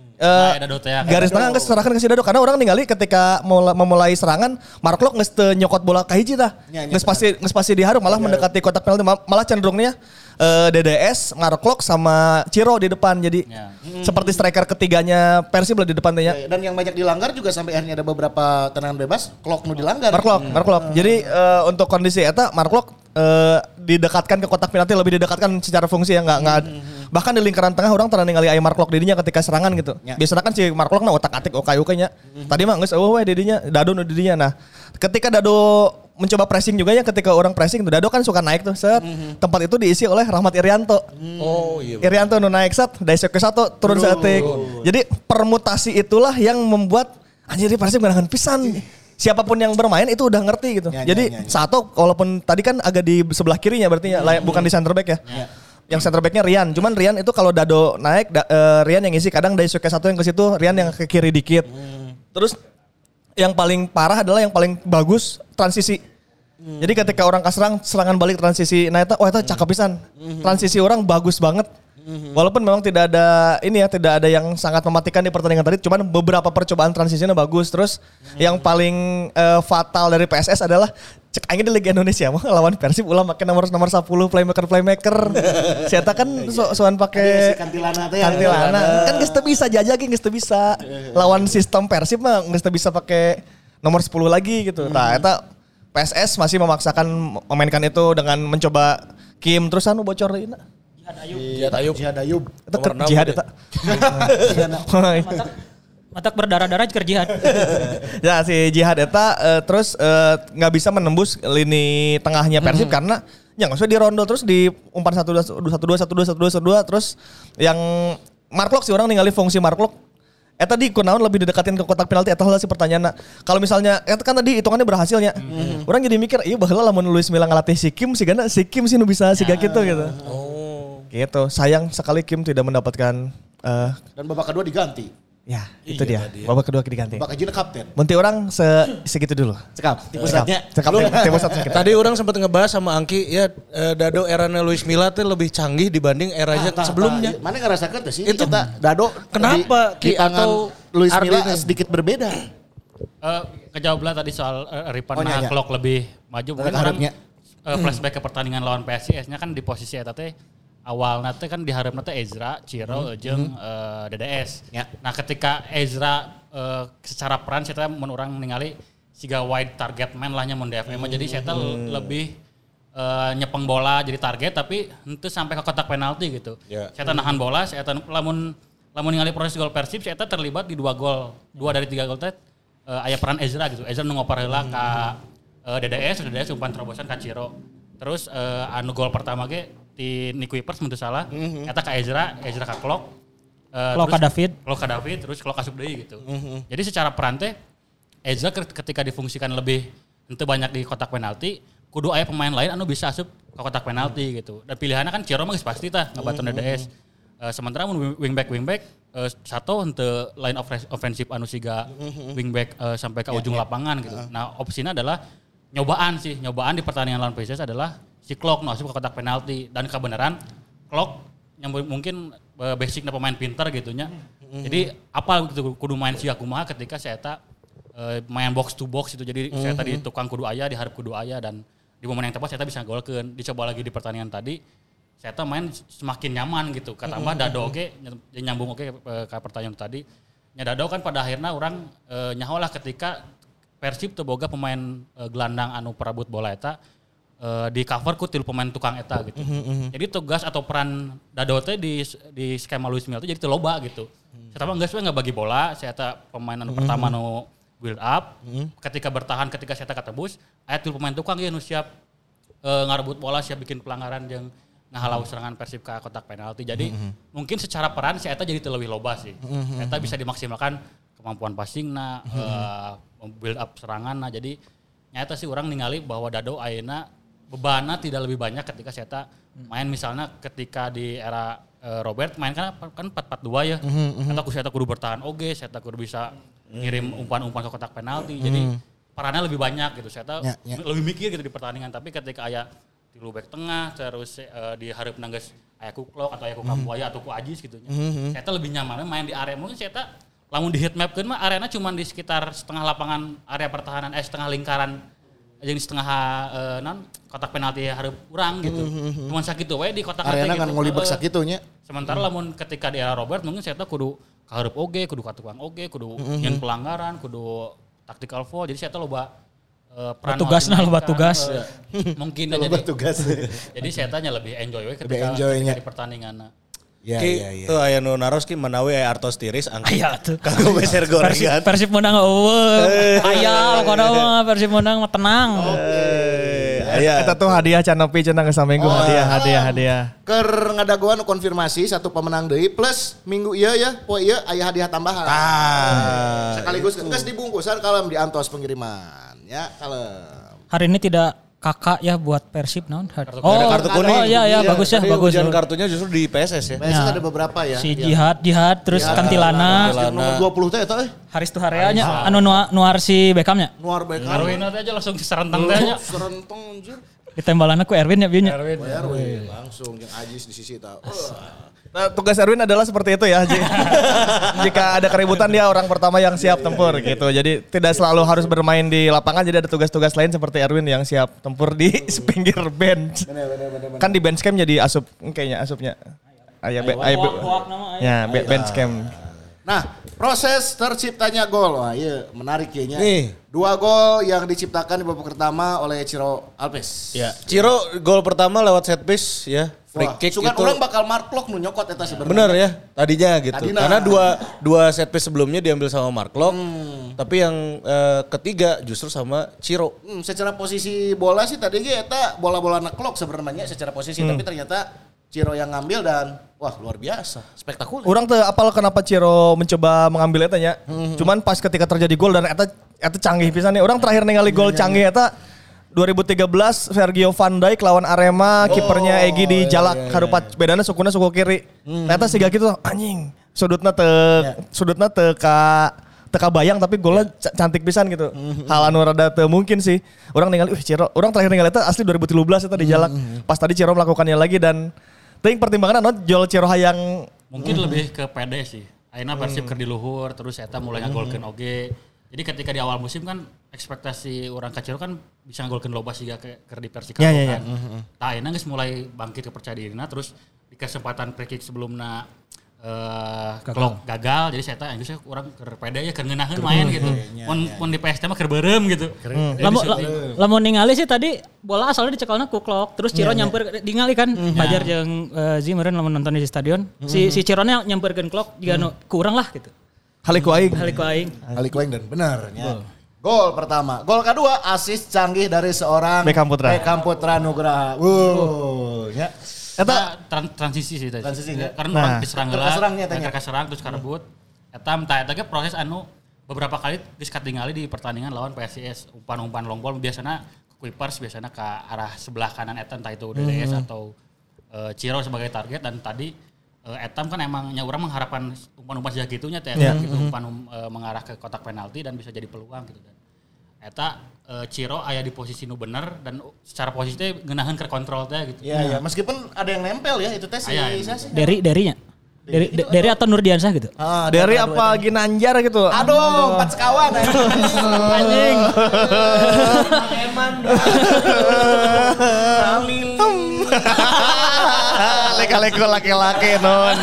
Garis tengah geus serahkan ke si Dado karena orang ningali ketika memulai serangan Mark Klok geus teu nyokot bola ka hiji tah. Geus pasti diharum malah mendekati kotak penalti malah cenderungnya DDS, Mark Klok sama Ciro di depan jadi seperti striker ketiganya Persib di depan teh. Dan yang banyak dilanggar juga sampai akhirnya ada beberapa tendangan bebas Klok nu dilanggar. Mark Klok. Jadi untuk kondisi eta Mark Klok didekatkan ke kotak penalti lebih didekatkan secara fungsi ya enggak bahkan di lingkaran tengah orang pernah ningali aya Mark Klok didinya ketika serangan gitu. Biasanya kan si Mark Klok otak-atik okay-nya. Tadi mah geus eueuh we didinya, Dado nu didinya. Nah, ketika Dado mencoba pressing juga ya ketika orang pressing Dado kan suka naik tuh set. Tempat itu diisi oleh Rahmat Irianto. Irianto nu naik set, Daisek ke satu turun setik. Jadi permutasi itulah yang membuat anjir Persib ngarahan pisan. Siapapun yang bermain itu udah ngerti gitu. Jadi Sato walaupun tadi kan agak di sebelah kirinya berarti ya bukan di center back ya. Yang center backnya Rian. Cuman Rian itu kalau Dado naik Rian yang isi kadang Daisuke satu yang ke situ Rian yang ke kiri dikit. Terus yang paling parah adalah yang paling bagus transisi. Jadi ketika orang serangan balik transisi nah itu cakep pisan. Transisi orang bagus banget. Walaupun memang tidak ada yang sangat mematikan di pertandingan tadi, cuman beberapa percobaan transisinya bagus. Terus yang paling fatal dari PSS adalah cek aing di Liga Indonesia mah lawan Persib ulah make nomor 10 playmaker. Sieta kan soan pakai kantilana kan geus teu bisa jajaki geus teu bisa. Lawan sistem Persib mah geus teu bisa pakai nomor 10 lagi gitu. Nah, eta PSS masih memaksakan memainkan itu dengan mencoba Kim terus anu bocor deui. Jihad Ayub. Itu jihad eta. Matak berdarah-darah keur jihad. Ya si Jihad eta terus nggak bisa menembus lini tengahnya Persib karena ya nggak usah di rondo terus di umpan 1-2 terus yang Mark Klok sih orang ningali fungsi Mark Klok Eta di kunaon lebih didekatin ke kotak penalti atau si pertanyaan. Kalau misalnya eta kan tadi hitungannya berhasilnya. Orang jadi mikir, iya baheula lamun Luis Milla ngalatih si Kim si nu bisa siga gitu gitu. Gitu. Sayang sekali Kim tidak mendapatkan Dan babak kedua diganti. ya, itu dia. Babak kedua diganti. Babak kejina kapten. Munti orang segitu dulu. Cekap. Pusatnya. Tadi orang sempat ngebahas sama Angki ya Dado eranya Luis Milla tuh lebih canggih dibanding eranya sebelumnya. Mana ngerasakan tuh sih? Itu kita Dado kenapa di tangan Luis Milla sedikit berbeda. Kejawab lah tadi soal Ripan Clock lebih maju. Mungkin orang flashback ke pertandingan lawan PSIS-nya kan di posisi eta teh awal nanti kan diharapna teh Ezra, Ciro, jeung DDS. Ya. Nah ketika Ezra secara peran saya mun urang ningali siga wide target man lahnya mun DFM jadi saya lebih nyepeng bola jadi target tapi henteu sampai ke kotak penalti gitu. Yeah. Saya nahan bola, saya lamun ningali proses gol Persib saya terlibat di 2 dari 3 gol teh aya peran Ezra gitu. Ezra nu ngoper heula ka DDS umpan terobosan ka Ciro. Terus anu gol pertama ge di Nick Wipers menurut salah, eta ka Ezra ka Clock, Clock ka David, terus Clock asup deui gitu. Jadi secara peran teh Ezra ketika difungsikan lebih henteu banyak di kotak penalti, kudu aya pemain lain anu bisa asup ke kotak penalti gitu. Dan pilihannya kan Ciro mah geus pasti tah ngabaton DDS. Sementara mun wingback satu henteu line offensive anu siga wingback sampai ke ujung lapangan gitu. Nah, opsinya adalah nyobaan di pertandingan lawan PSIS adalah si Clock masuk ke kotak penalti dan kebenaran Clock yang mungkin basicnya pemain pintar gitunya. Jadi apa gitu kudu main sia kumaha ketika saya main box to box itu jadi saya tadi tukang kudu aya diharap kudu aya dan di momen yang tepat saya bisa golkeun. Dicoba lagi di pertandingan tadi saya main semakin nyaman gitu. Katambah Dado oke nyambung oke ke pertanyaan tadi. Nya Dado kan pada akhirnya orang nyaholah ketika Persib teu boga pemain gelandang anu perabot bola eta di cover ku tilu pemain tukang eta gitu. Jadi tugas atau peran Dado teh di skema Luis Milla jadi teu loba gitu. Saya mah geus we bagi bola, saya eta pemain anu pertama nu build up. Ketika bertahan ketika saya katebus, aya tilu pemain tukang ieu nu siap ngarebut bola, siap bikin pelanggaran jeung ngahalau serangan Persib ke kotak penalti. Jadi mungkin secara peran si eta jadi teu leuwih loba sih. Eta bisa dimaksimalkan kemampuan passingna, build up seranganna. Jadi nyata sih orang ningali bahwa Dado ayeuna bebanna tidak lebih banyak ketika saya main misalnya ketika di era Robert main kan 4-4-2 ya. Atau saya kudu bertahan oge, saya kudu bisa ngirim umpan-umpan ke kotak penalti. Jadi perannya lebih banyak gitu. Saya lebih mikir gitu di pertandingan. Tapi ketika aya di back tengah terus di hareup nanggeus aya ku Clock atau aya ku Kambuaya atau ku Ajis gitu nya. Saya lebih nyaman main di area mungkin saya lamun di heat mapkeun mah areana cuma di sekitar setengah lapangan area pertahanan setengah lingkaran jeung setengah kotak penalti hareup urang gitu. Cuman sakitu we di kotak areana kan ngolibek sakitu nya. Sementara lamun ketika di era Robert mungkin saya kudu ka hareup oge, kudu ka tukang oge, kudu nyen pelanggaran, kudu tactical foul. Jadi saya loba peran tugas. Mungkin jadi tugas. Jadi saya lebih enjoy we ketika di pertandingan. Ya. Tuh aya nu naros ki menawi aya artos tiris angki. Kanggo beser gorengan. Persib menang eueuh. Aya pokona mah Persib menang mah tenang. Aya eta tuh hadiah Canopi cenah geus saminggu hadiah. Keur ngadagoan konfirmasi satu pemenang deui plus minggu ieu ya, poe ieu aya hadiah tambahan. Sekaligus geus dibungkusan kalem di antos pengiriman ya kalem. Hari ini tidak kakak ya buat Persib naon? Kartu kuning. Oh iya bagus ya, bagus. Ujian kartunya justru di PSS ya. PSS ada beberapa ya. Si Jihad terus Kantilana. Nomor 20 teh eta Haris Tuhareanya anu nuar si Beckhamnya. Nuar Beckham. Arwin aja langsung serentang teh nya. Serentang anjir. Ditembalanna ku Erwin ya bieu nya. Erwin langsung jeung Ajis di sisi tah. Nah, tugas Erwin adalah seperti itu ya. Jika ada keributan dia orang pertama yang siap tempur gitu. Jadi tidak selalu harus bermain di lapangan. Jadi ada tugas-tugas lain seperti Erwin yang siap tempur di pinggir bench. Bener. Kan di bench camp jadi asup kayaknya asupnya. Bench camp. Nah, proses terciptanya gol. Wah, iya menarik kayaknya. Nih. 2 gol yang diciptakan di babak pertama oleh Ciro Alves. Ya, Ciro gol pertama lewat set piece ya. Free kick itu. Orang bakal Mark Locke nu nyokot eta sebenarnya. Bener ya, tadinya gitu. Karena dua set piece sebelumnya diambil sama Mark Locke. Tapi yang ketiga justru sama Ciro. Secara posisi bola sih tadi eta bola-bola Mark Locke sebenarnya secara posisi tapi ternyata Ciro yang ngambil dan wah luar biasa, spektakuler. Orang tuh apal kenapa Ciro mencoba mengambil eta nya. Cuman pas ketika terjadi gol dan eta canggih pisan nih. Orang terakhir ningali gol canggih eta 2013 Sergio Van Dijk lawan Arema, kipernya Egy di jalak harupat bedana sukuna suku kiri. Ternyata siga gitu anjing. Sudutna teu teka bayang tapi golnya cantik pisan gitu. Hal anu rada teu mungkin sih. Orang ningali Ciro, orang terakhir ningali eta asli 2013 eta di jalak. Pas tadi Ciro melakukannya lagi dan ting pertimbangan jual Ciro hayang mungkin lebih ke pede sih. Ayeuna Persib keur di luhur terus eta mulai ngagolkeun oge. Jadi ketika di awal musim kan ekspektasi orang ka Ciro kan bisa ngagolkeun loba siga keur di Persikabo kan. Tah ayeuna geus mulai bangkit kepercaya dirina terus di kesempatan free kick sebelumna Klok gagal jadi saya tanya saya kurang kerpeda ya kengenahin main gitu. Mun di PST mah kerberem gitu. Lamun ningali sih tadi bola asalnya dicekalna ku Klok terus Ciro nyamper ningali kan Fajar jeung Zimeren lamun nonton di stadion. Si Cirone nyamperkeun Klok jiga nu kurang lah gitu. Haliku aing dan benar ya. Gol pertama, gol kedua asis canggih dari seorang Beckham Putra Nugraha. Ya. Eta transisi sih tadi. Karena orang diserang heula, mereka serang terus karebut. Eta ge proses anu beberapa kali geus katingali di pertandingan lawan PSIS, umpan-umpan long ball biasana Kuipers biasana ke arah sebelah kanan eta entah itu DDS atau Ciro sebagai target dan tadi Etam kan emangnya orang mengharapkan umpan-umpan sejak gitunya gitu umpan mengarah ke kotak penalti dan bisa jadi peluang gitu dan eta Ciro aya di posisi nu bener dan secara posisinya ngeunaheun ke kontrol teh gitu. Iya, meskipun ada yang nempel ya itu teh si Derinya. Dari atau Nurdiansyah gitu. Dari apa Ginanjar gitu. Aduh, 4 sekawan anjing. Eman. Leka-leko laki-laki non.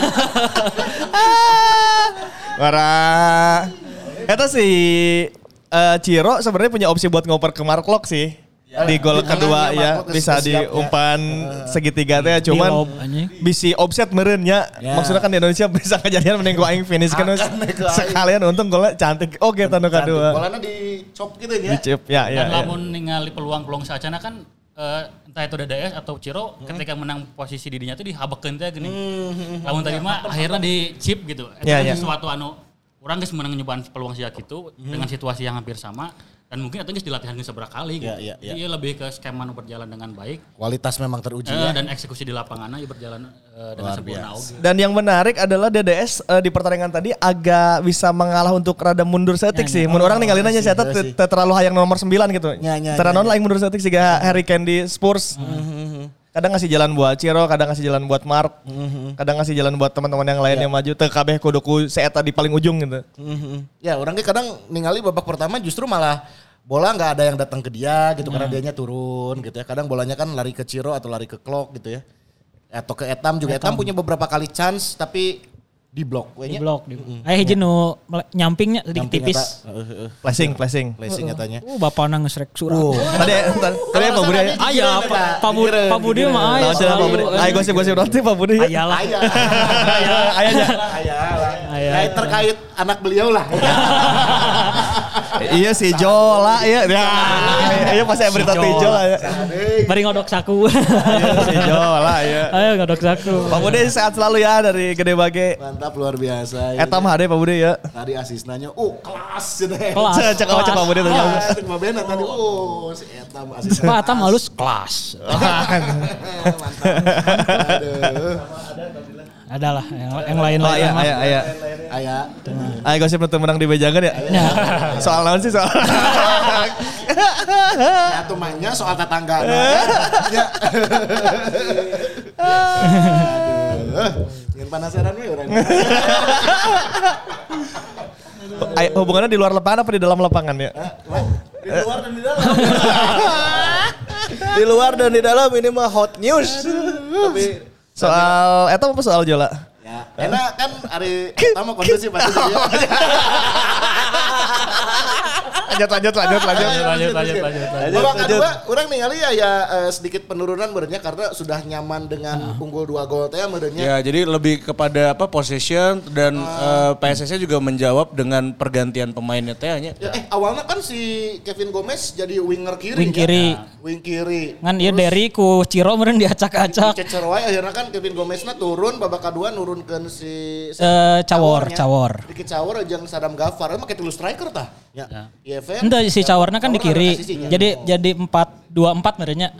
Wara. Eta si Ciro sebenarnya punya opsi buat ngoper ke Mark Klok sih. Di gol kedua ya bisa diumpan segitiga teh cuman bisi offset meureun nya. Maksudnya kan di Indonesia bisa kejadian mending ku aing finish kan sekalian untung golnya cantik oge tanu kadua. Golana dicop gitu ya. Dicop ya. Dan lamun ningali peluang-peluang saacana kan entah itu DDS atau Ciro ketika menang posisi didinya tuh dihabekeun teh geuning. Lamun tadi mah akhirnya di chip gitu. Itu sesuatu anu orang geus menang nyobaan peluang sia kitu dengan situasi yang hampir sama. Dan mungkin itu dilatihan seberapa kali gitu. Iya lebih ke skema berjalan dengan baik. Kualitas memang teruji ya. Dan eksekusi di lapangannya berjalan dengan sempurna. Dan yang menarik adalah DDS di pertandingan tadi agak bisa mengalah untuk rada mundur setik sih. Mun orang ninggalin aja saya terlalu hayang nomor 9 gitu. Terlalu lain mundur setik sih Harry Kane di Spurs. Kadang ngasih jalan buat Ciro, kadang ngasih jalan buat Mark, kadang ngasih jalan buat teman-teman yang lain yang maju. Teu kabeh kudu seeta di paling ujung gitu. Ya orangnya kadang ningali babak pertama justru malah bola nggak ada yang datang ke dia gitu karena dianya turun gitu ya. Kadang bolanya kan lari ke Ciro atau lari ke Klok gitu ya. Atau ke Etam juga. Etam punya beberapa kali chance tapi di blok. Di blok. Hiji nu nyampingnya sedikit tipis. Flashing katanya. Bapak nang ngesrek surah. Tadi Pak Budi. Aya Pak Budi mah aya. Ayo gosip-gosip nanti Pak Budi. Ayalah. Aya. Terkait anak beliau lah. Iya si Jola ya. Iya pasti berita si Jola ya. Bari ngodok saku. Si Jola ya. Ayo ngodok saku. Pak Budi sehat selalu ya dari Gede Bage. Mantap luar biasa. Etam HD Pak Budi ya. Tadi asisnanya kelas gitu ya. Cek Pak Budi tuh. Cek Pak Bena tadi si Etam asisnya. Pak Etam halus kelas. Mantap. Aduh. Adalah yang lain lah. Aya. Ayo gosip nutup menang di Bejangan ya. Soal naon sih soal. Ya tuh mainnya soal tetangga. Ya. Jangan penasaran we urang. Hubungannya di luar lapangan apa di dalam lapangan ya? Di luar dan di dalam. Di luar dan di dalam ini mah hot news. Tapi soal apa soal Jola? Ya. Enak kan hari pertama kondusif pasti dia. Lanjut. Babak kedua orang ningali ya sedikit penurunan merenya karena sudah nyaman dengan unggul 2 gol teh merenya. Ya, jadi lebih kepada possession dan PSS juga menjawab dengan pergantian pemainnya teh nya. Awalnya kan si Kevin Gomez jadi winger kiri. Wing kiri. Ngan ieu Derry ku Ciro meureun diacak-acak. Cecer wae akhirnya kan Kevin Gomezna turun babak kedua nurunkeun si Cawor. Dikit Cawor jeung Sadam Ghaffar mah kitu striker tah. Ya. Ente si Cawarna kan di kiri. Jadi 4-2-4 merenya.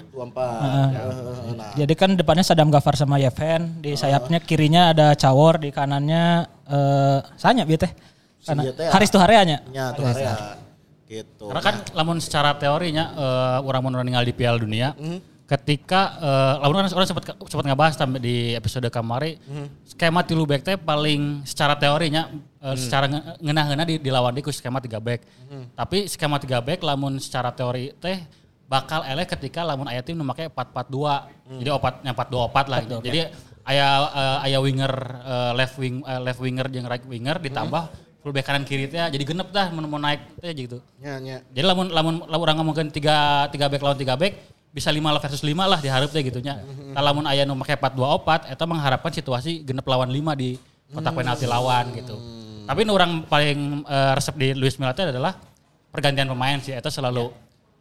2-4. Jadi kan depannya Sadam Ghaffar sama Yeven, di sayapnya kirinya ada Cawor, di kanannya sanya bieu teh. Haris Tuharea nya. Nya Tuharea. Gitu. Karena kan lamun secara teorinya urang mun ninggal di Piala Dunia ketika lamun orang sempat ngabahas di episode kamari skema 3 back teh paling secara teorinya secara ngeunah-ngeunah di lawan di skema 3 back. Tapi skema 3 back lamun secara teori teh bakal eleh ketika lamun aya tim nu make 4-4-2. Jadi 4-2-4 lah gitu. Jadi aya winger left winger jeung right winger ditambah fullback kanan kiri teh jadi genep dah mau naik teh gitu. Nya. Jadi lamun urang ngomongkeun 3 back lawan 3 back bisa 5 versus 5 lah diharap teh gitunya. Lamun aya nu make 4-2-4 eta mengharapkan situasi genep lawan 5 di kotak penalti lawan gitu. Tapi nu urang paling resep di Luis Milla teh adalah pergantian pemain sih eta selalu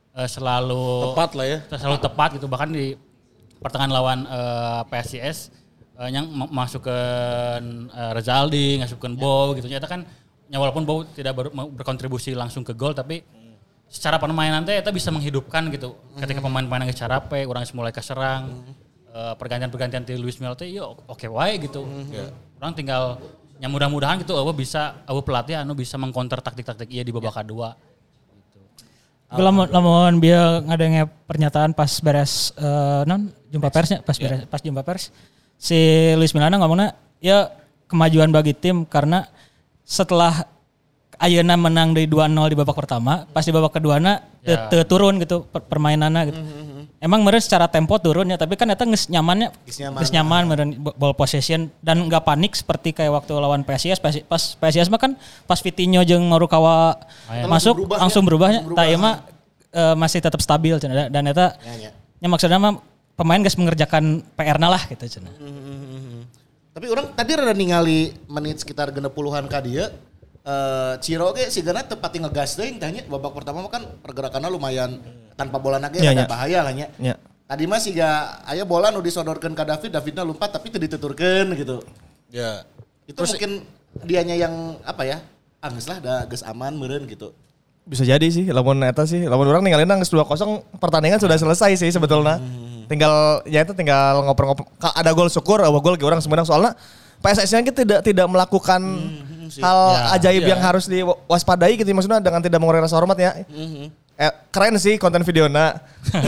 Tepat lah ya. Selalu tepat gitu bahkan di pertengahan lawan PSIS yang masukkan Rezaldi, ngasupkeun Bow gitu. Eta kan walaupun Bow tidak berkontribusi langsung ke gol tapi secara permainan teh eta bisa menghidupkan gitu. Ketika pemain-pemain geus carape, urang mulai kaserang. Pergantian-pergantian ti Luis Milla teh yo oke wae gitu. Urang tinggal mudah-mudahan gitu eueuh pelatih anu bisa mengcounter taktik-taktik ieu di babak kedua. Gitu. Lamun bieu ngadenge pernyataan pas beres jumpa persnya pas jumpa pers si Luis Milla ngomongna ya kemajuan bagi tim karena setelah ayeuna menang dari 2-0 di babak pertama, pas di babak keduana turun gitu permainanna gitu. Emang meureun secara tempo turun ya, tapi kan eta geus nyaman meureun ball possession dan enggak panik seperti kayak waktu lawan PSIS. Pas PSIS mah kan pas Vitinho jeung Marukawa masuk langsung berubahnya. Tah ieu mah masih tetap stabil cenah dan eta nya maksudna mah pemain geus mengerjakan PR-na lah gitu cenah. Tapi orang tadi rada ningali menit sekitar 60-an ka dieu. Ciro ge sigana tepati ngegas teuing tanya babak pertama kan pergerakannya lumayan tanpa bola nage ada bahaya lah nya. Tadi mah siga aya bola nu disodorkeun ka Davidna lompat tapi teu dituturkeun gitu. Ya. Itu terus, mungkin dianya yang apa ya? Geus lah da geus aman meureun gitu. Bisa jadi sih lamun eta sih. Lamun urang ninggalin geus 2-0 pertandingan sudah selesai sih sebetulnya. Tinggal ngoper-ngoper ada gol syukur, gol ge urang sebenarnya soalnya PSS-nya tidak melakukan hal ajaib yang harus diwaspadai gitu maksudnya dengan tidak mengurangi rasa hormat ya. Keren sih konten videona.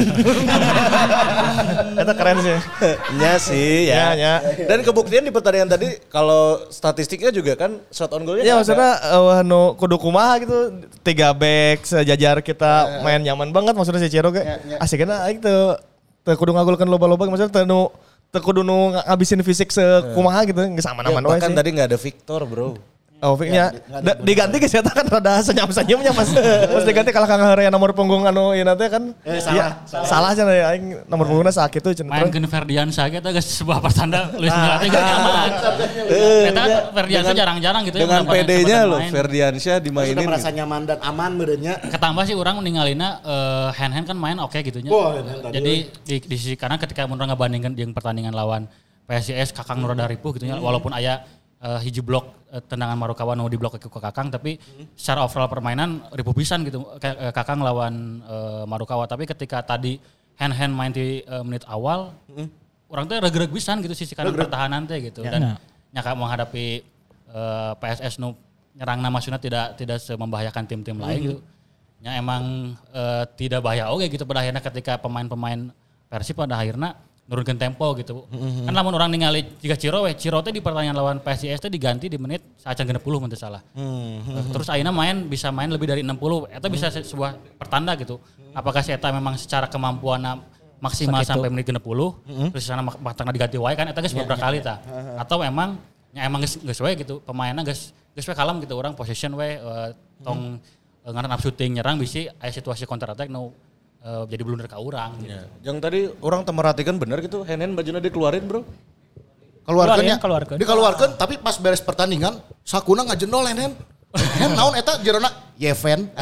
Itu keren sih. Iya sih ya. Dan kebuktian di pertandingan tadi kalau statistiknya juga kan shot on goalnya. Iya maksudnya kudu kumaha gitu 3 back sejajar kita main nyaman banget maksudnya si Ciro ge. Asikna aing teu kudu ngagolkeun loba-loba maksudnya teu kudu nu ngabisin fisik sekumaha gitu geus aman-aman wae sih. Bahkan tadi enggak ada Victor, bro. Oh, Vicnya diganti ke saya kan rada senyum-senyumnya pas diganti kalau Kang Herea nomor punggung anu ieu teh kan salah cenah aing nomor punggungna sakit tuh cenah. Main ke Ferdiansyah ge teh geus sebuah pertanda Luis Milla teh gak nyaman. Eta kan Ferdiansyah jarang-jarang gitu dengan PD-nya loh Ferdiansyah dimainin. Sudah merasa nyaman dan aman merenya. Ketambah sih orang ningalina hand kan main oke gitunya. Jadi di sisi kanan ketika mun ngabandingkeun jeung pertandingan lawan PSIS Kakang nu rada ripuh gitu nya walaupun aya hiji blok tendangan Marukawa nu di blok ke Kakang tapi secara overall permainan ripuh pisan gitu Kakang lawan Marukawa tapi ketika tadi hand main di menit awal orang tuh regreg pisan gitu sisi kanan pertahanan teh gitu dan nyaka menghadapi PSS nu nyerangna maksudnya tidak semembahayakan tim-tim lain gitu. Ya emang tidak bahaya oke gitu pada akhirnya ketika pemain-pemain Persib pada akhirnya nurunkan tempo gitu. Kan lamun orang ningali jika Ciro teh di pertandingan lawan PSIS teh diganti di menit sacan 60 mun teu salah. Terus ayeuna bisa main lebih dari 60. Eta bisa sebuah pertanda gitu. Apakah si eta memang secara kemampuan maksimal sampai menit 60 terus sana matangna diganti wae kan eta geus beberapa kali tah. Atau memang nya emang geus we gitu pemainna geus we kalem gitu orang possession we tong ngaran up shooting nyerang bisi aya situasi counter attack jadi blunder ka urang gitu. Yang tadi orang merhatikan benar gitu hand bajuna dikeluarin bro. Dikeluarkan tapi pas beres pertandingan sakuna ngajendol hand. Hand naon eta jerona Yeven.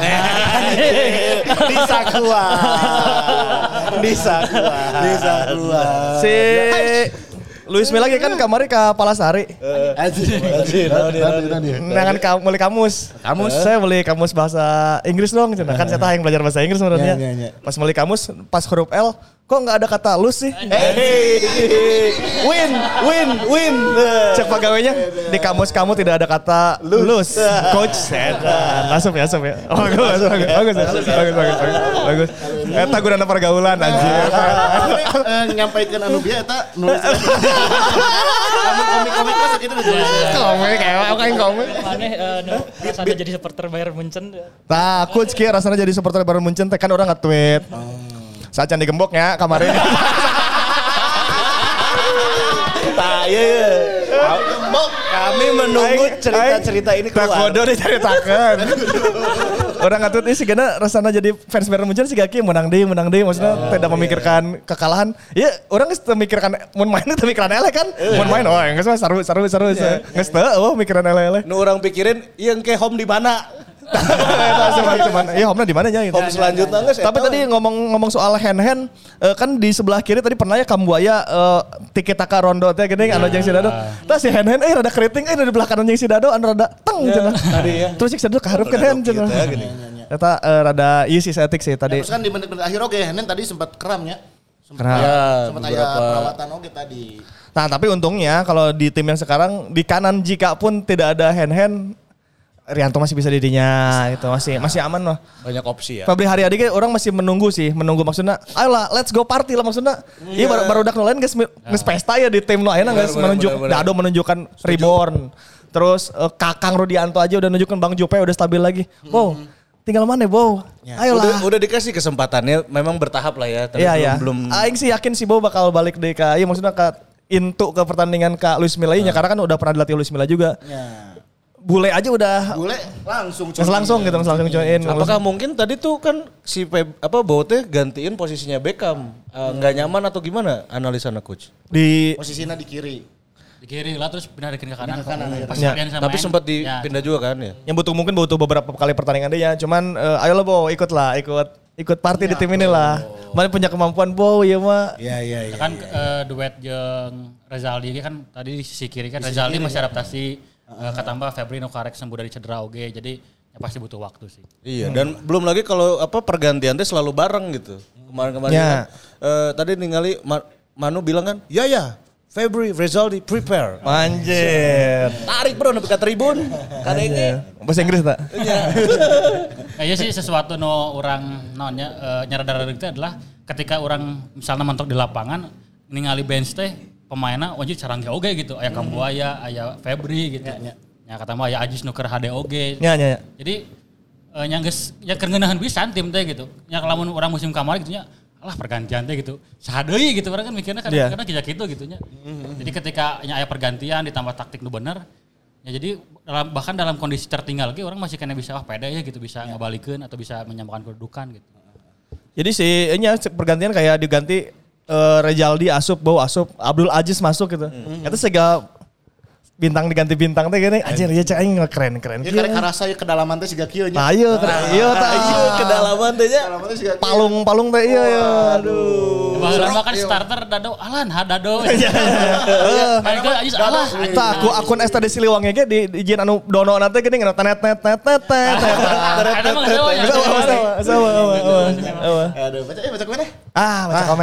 Bisa keluar. Si Luis Milla kan kamari ka Palasari. Nangan beli kamus. Saya beli kamus bahasa Inggris dong. Kan saya yang belajar bahasa Inggris sebenarnya. Pas beli kamus, pas huruf L, kok nggak ada kata lose sih? Win. Cek pegawainya di kamus kamu tidak ada kata lose. Coach setan. Masuk ya. Bagus. Eta guna pergaulan anjir. Nyampaikan anu bieu eta nulis. Komik-komik masa gitu ditulis. Komik. Aneh rasanya jadi supporter Bayern Munchen. Nah, coach kieu rasanya jadi supporter Bayern Munchen teh kan orang nge-tweet. Saat can digemboknya kemarin. Kami menunggu cerita-cerita ini keluar. Takodo diceritakan. Orang ngatut ini sih karena rasanya jadi fans Bayern Munchen sih gaki menang deh maksudnya tidak memikirkan kekalahan. Iya, orang geus teu mikirkan mun main teu mikiran eleh kan. Mun main geus mah seru. Geus teu mikiran eleh. Nu orang pikirin ieu ke home di mana? Cuman home di mana nya gitu. Home selanjutnya geus. Tapi tadi ngomong soal hand kan di sebelah kiri tadi pernah ya Kambuaya tiki taka rondo teh geuning anu jeung si Dado. Tah si hand rada keriting di belah kanan jeung si Dado anu rada teng cenah. Terus si Dado kaharupkeun hand cenah. Eta rada ieu sih setik sih tadi. Terus kan di menit-menit akhir oge Henen tadi sempat keramnya. Sempat aya perawatan oge tadi. Nah, tapi untungnya kalau di tim yang sekarang di kanan jika pun tidak ada hand Rianto masih bisa didinya itu masih aman lah. Banyak opsi ya. Febri Haryadi kan orang masih menunggu maksudnya ayolah let's go party lah maksudnya. Iya baru dak lain geus pesta ya di tim nu ayeuna geus Dado menunjukkan reborn. Terus Kakang Rudianto aja udah nunjukin Bang Jope udah stabil lagi. Wow, tinggal mana Bow? Ayolah. Udah dikasih kesempatannya memang bertahap lah ya. Tapi belum. Aing sih yakin si Bow bakal balik deh iya maksudnya into ke pertandingan Kak Luis Milla karena kan udah pernah dilatih Luis Milla juga. Bule aja udah langsung join. Apakah mungkin tadi tuh kan si Bow teh gantiin posisinya Beckham nggak nyaman atau gimana analisanya coach? Di posisinya di kiri. Di kiri lah terus pindahin ke kanan. Tapi sempat dipindah juga kan ya. Yang mungkin butuh beberapa kali pertandingan dia. Cuman ayolah Bow ikut party di tim ini lah. Mana punya kemampuan Bow ya mah. Iya. Kan duet jeung Rezaldi kan tadi di sisi kiri kan Rezaldi masih adaptasi. Ketambah Febri nu karek sembuh dari cedera oge. Jadi ya pasti butuh waktu sih. Iya dan belum lagi kalau pergantian teh selalu bareng gitu. Kemarin kan, tadi ningali Manu bilang kan, ya Febri, Rezaldi, prepare. Anjir. Tarik bro, nepi ka tribun. Kadenge. Bahasa Inggris tak? Kayaknya sih sesuatu orang nyadar itu adalah ketika orang misalnya mentok di lapangan, ningali bench teh pemainnya wajib carang oge gitu. Aya Kambuaya, aya Febri gitu. Ya kata mah aya Ajis nuker HD oge. Ya. Jadi nya geus ya keur ngeunaheun pisan tim teh gitu. Nya lamun orang musim kamari gitu nya alah pergantian teh gitu. Sahadeui gitu orang kan mikirnya kadang-kadang kayak gitu gitu nya. Jadi ketika aya pergantian ditambah taktik nu bener ya jadi bahkan dalam kondisi tertinggal ge orang masih kena bisa pede ya gitu bisa ngabalikeun atau bisa menyamakan kedudukan gitu. Jadi pergantian kayak diganti Rezaldi asup, Bow asup, Abdul Aziz masuk gitu. Itu sega bintang diganti bintang teh gini anjir ya cek aing keren. Ya karek karasa kedalaman teh siga kieu nya. Ayo kedalaman teh nya. Palung teh iya. Aduh. Bahwa kan starter Dado Alan Dado. Main gol Ajis alah. Tah akun Esta di Siliwangi ge di izin anu dono nanti gini net. Ada mah sama. Aduh, baca kemana? Baca komen.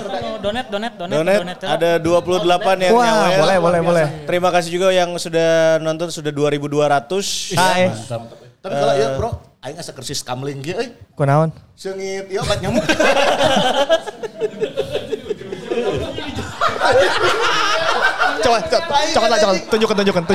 Donet. Ada 28 yang nyawer. Boleh. Terima kasih juga yang sudah nonton sudah 2.200. Hai. Tapi kalau ya bro, aing asa kersis kamling ge euy. Kunaon? Seungit ieu obat nyamuk. Coba tunjukkan.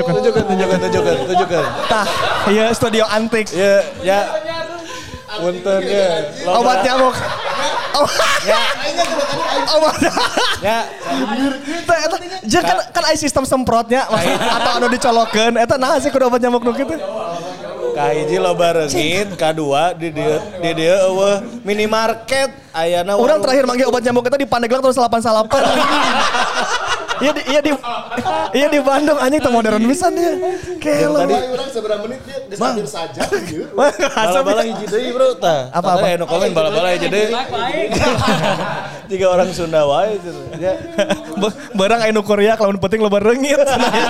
Tah, iya studio antik. Ya. Punten ya. Obat nyamuk. Ya. Jeung kan aya sistem semprotnya atau anu dicolokeun eta naha sih kudu obat nyamuk nu kitu. Kahiji loba reungit, kadua di dieu eueuh minimarket ayana. Urang terakhir manggil obat nyamuk eta di Pandeglang tahun 88. Iya di Bandung anjing teu modern pisan dia. Kelo. Tadi urang seberapa menit dia geus hampir saja anjir. Bala-bala hiji deui bro tah. Apa? Anu komen bala-bala hiji deui. Tiga orang Sunda wae cenah. Barang aya nu kuriak lamun penting loba reungit.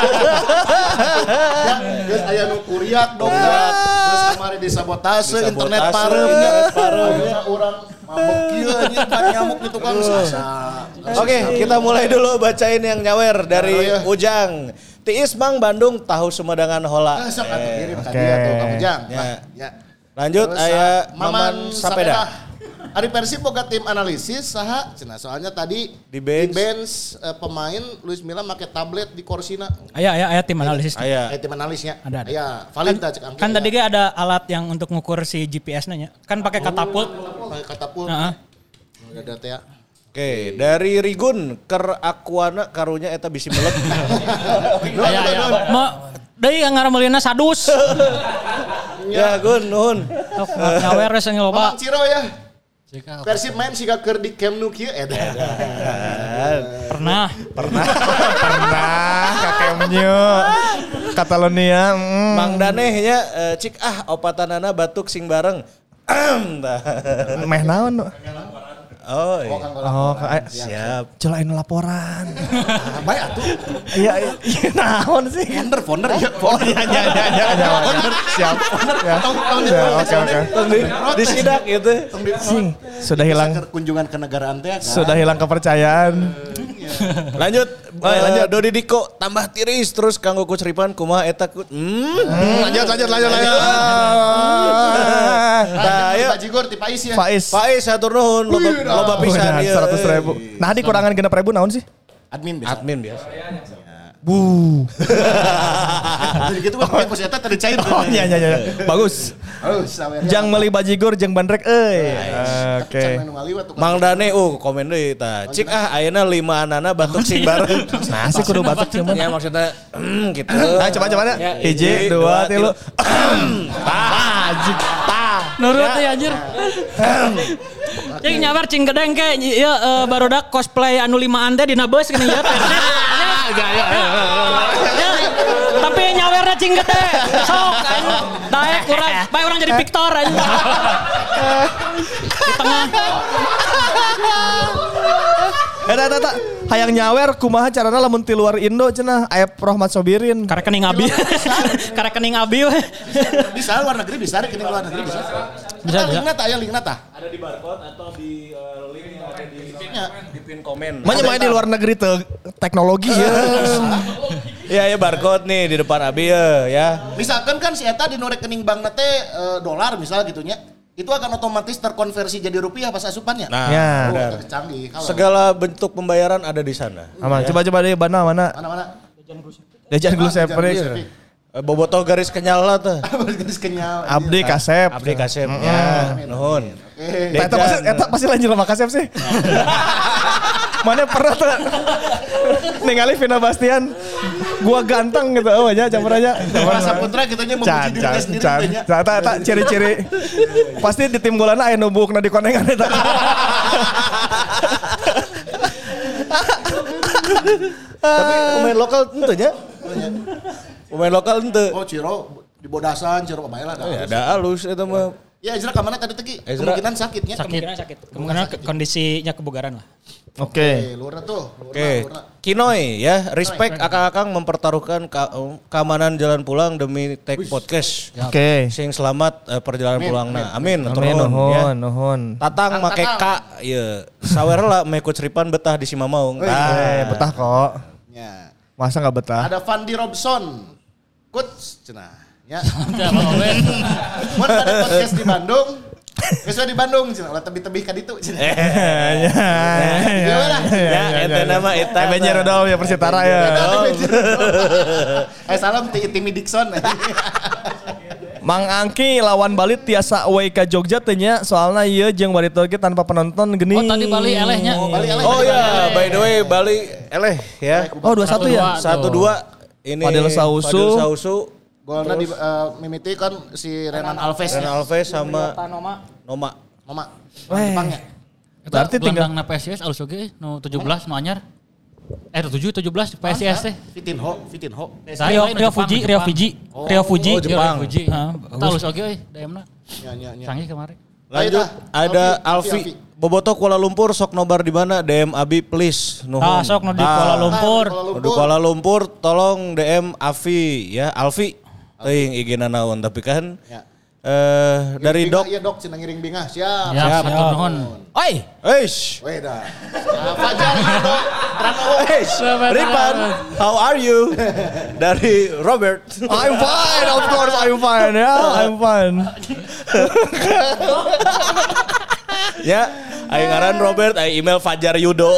Geus aya nu kuriak dongkrak. Terus kemarin disabotase internet parem. Urang mabok kieu anjing kan nyamuk di tukang sasa. Oke, kita mulai dulu bacain yang nyawer dari Ujang. Tiis Mang Bandung tahu Sumedang hola. Sok atuh kirim ka dia tuh Kang Ujang. Ya. Lanjut aya Maman Sapeda. Ari Persib boga tim analisis saha cenah soalnya tadi Di bench pemain Luis Milla make tablet di korsina. Aya tim analisis. Aya. Tim analisnya. Ada. Ya, valid cek angka. Kan tadi ada alat yang untuk ngukur si GPS-nya nya. Kan pakai katapult. Pakai katapult. Heeh. Ada teh. Oke, dari Rigun ker Aquana karunya eta bisi melet. Aya. Deui ngaramulina sadus. Ya, Gun, nuhun. Nyawer geus loba. Mamang Ciro ya. Persib main siga keur di Camp Nou kieu edan. Pernah Ka Camp Nou. Catalonia. Mang Daneh nya cik opatanana batuk sing bareng. Meh naon? Oh, iya. Siap. Celain laporan. Baik atuh. Iya naon sih? Founder ya. Founder. Siap. Oke. Disidak gitu. Sudah hilang Kunjungan ke negaraan teh. sudah hilang kepercayaan. Lanjut. Dodi Diko tambah tiris terus kanggo Coach Ripan kumaha eta Lanjut. Nah, ya. Bajigur ti Pais ya. Faiz hatur nuhun loba pisan ieu. 100.000. Nah dikurangan 6.000 naon sih? Admin biasa. Admin biasa. Jadi gitu kan pos eta tadi cair. Oh iya. Bagus. Jang meuli bajigur jeung bandrek euy. Oke. Mang Dane komen deui tah. Cik ayeuna 5 anana batuk sing bareng. Nah sih kudu batuk sih. Ya maksudnya gitu. Nah coba hiji 2 3. Nurut ya anjir. Cing nyawer cing gedeng ke ieu barudak cosplay anu 5 teh dina beus kan ieu Persib. Tapi nyawerna cing gede. Sok daek urang, bae urang jadi Victor anjing. Di tengah. Eta hayang nyawer kumaha carana lamun ti luar Indo cenah aya Rohmat Sobirin. Ka rekening abi. Ka rekening abi we. Bisa luar negeri bisa, rekening luar negeri bisa. Bisa. Linkna tah. Ada di barcode atau di link yang ada di pin komen. Manya di luar negeri teh teknologi ya. Iya barcode nih di depan abi ya. Misalkan kan si eta di rekening bankna teh dolar misal gitunya. Itu akan otomatis terkonversi jadi rupiah pas asupannya. Nah, ya. Canggih. Segala bentuk pembayaran ada di sana. Aman. Coba deh mana? Mana? Dejan Glusep. Bobotoh garis kenyal lah tuh. Garis kenyal. Abdi Kasep. Ya, nuhun. Eta pasti lanjut sama Kasep sih. Mana pernah tuh ningali Vina Bastian gua ganteng gitu aja campur aja. Rasa putra kitanya memuji diri sendiri. Eta ciri-ciri pasti di tim golana aya nu buukna di konengan eta. Tapi pemain lokal tentunya. Pemain lokal ente. Oh Ciro di Bodasan, Ciro pemain lah. Ya ada alus itu mah. Ya Ezra kemana tadi tegi? Kemungkinan sakitnya. Kemungkinan kondisinya kebugaran lah. Oke. Luar tuh. Oke. Kinoy ya, respect akang-akang mempertaruhkan keamanan jalan pulang demi take podcast. Oke. Sing selamat perjalanan pulangna. Amin. Nuhun. Tatang make K ieu. Sawer lah me Coach Ripan betah di Simamaung. Betah kok. Ya. Masa enggak betah? Ada Fandi Robson. Coach cenah. Ya. Mun pada podcast di Bandung. Kesua di Bandung cenah, ulah tebih-tebih ka ditu cenah. Ya, eta nama eta. Benjer Rodol ya Persitara ya. Salam ti Timmy Dixon. Mang Angki lawan Bali tiasa away ka Jogja teh nya soalna ieu jeung Barito ge tanpa penonton geni. Oh tadi Bali elehnya. Oh ya, by the way Bali eleh ya. Oh 2-1 ya. 1-2 ini Fadil Sausu. Golnya mimiti kan si Renan Alves. Renan Alves sama Noma. Jepangnya. Berarti tinggal na PSIS alus oge nu 17 nu anyar. 17 PSIS teh. Vitinho. Rio Fuji. Jepang. Alus oge euy DM-na. Nya. Canggih kemarin. Lanjut ada Alfi. Boboto Kuala Lumpur sok nobar di mana? DM Abi please. Nuhun. Sok nu di Kuala Lumpur. Di Kuala Lumpur tolong DM Afi ya, Alfi. Teuing IG-na naon tapi kan dari Dok. Iya Dok, cenah ngiring bingah. Siap. Ya, betul nuhun. Oi. Eish. Weda. Fajar Dok. Eish. Ripan, how are you? Dari Robert. I'm fine, of course I'm fine ya. I'm fine. Ya, aing ngaran Robert, aing email Fajar Yudo.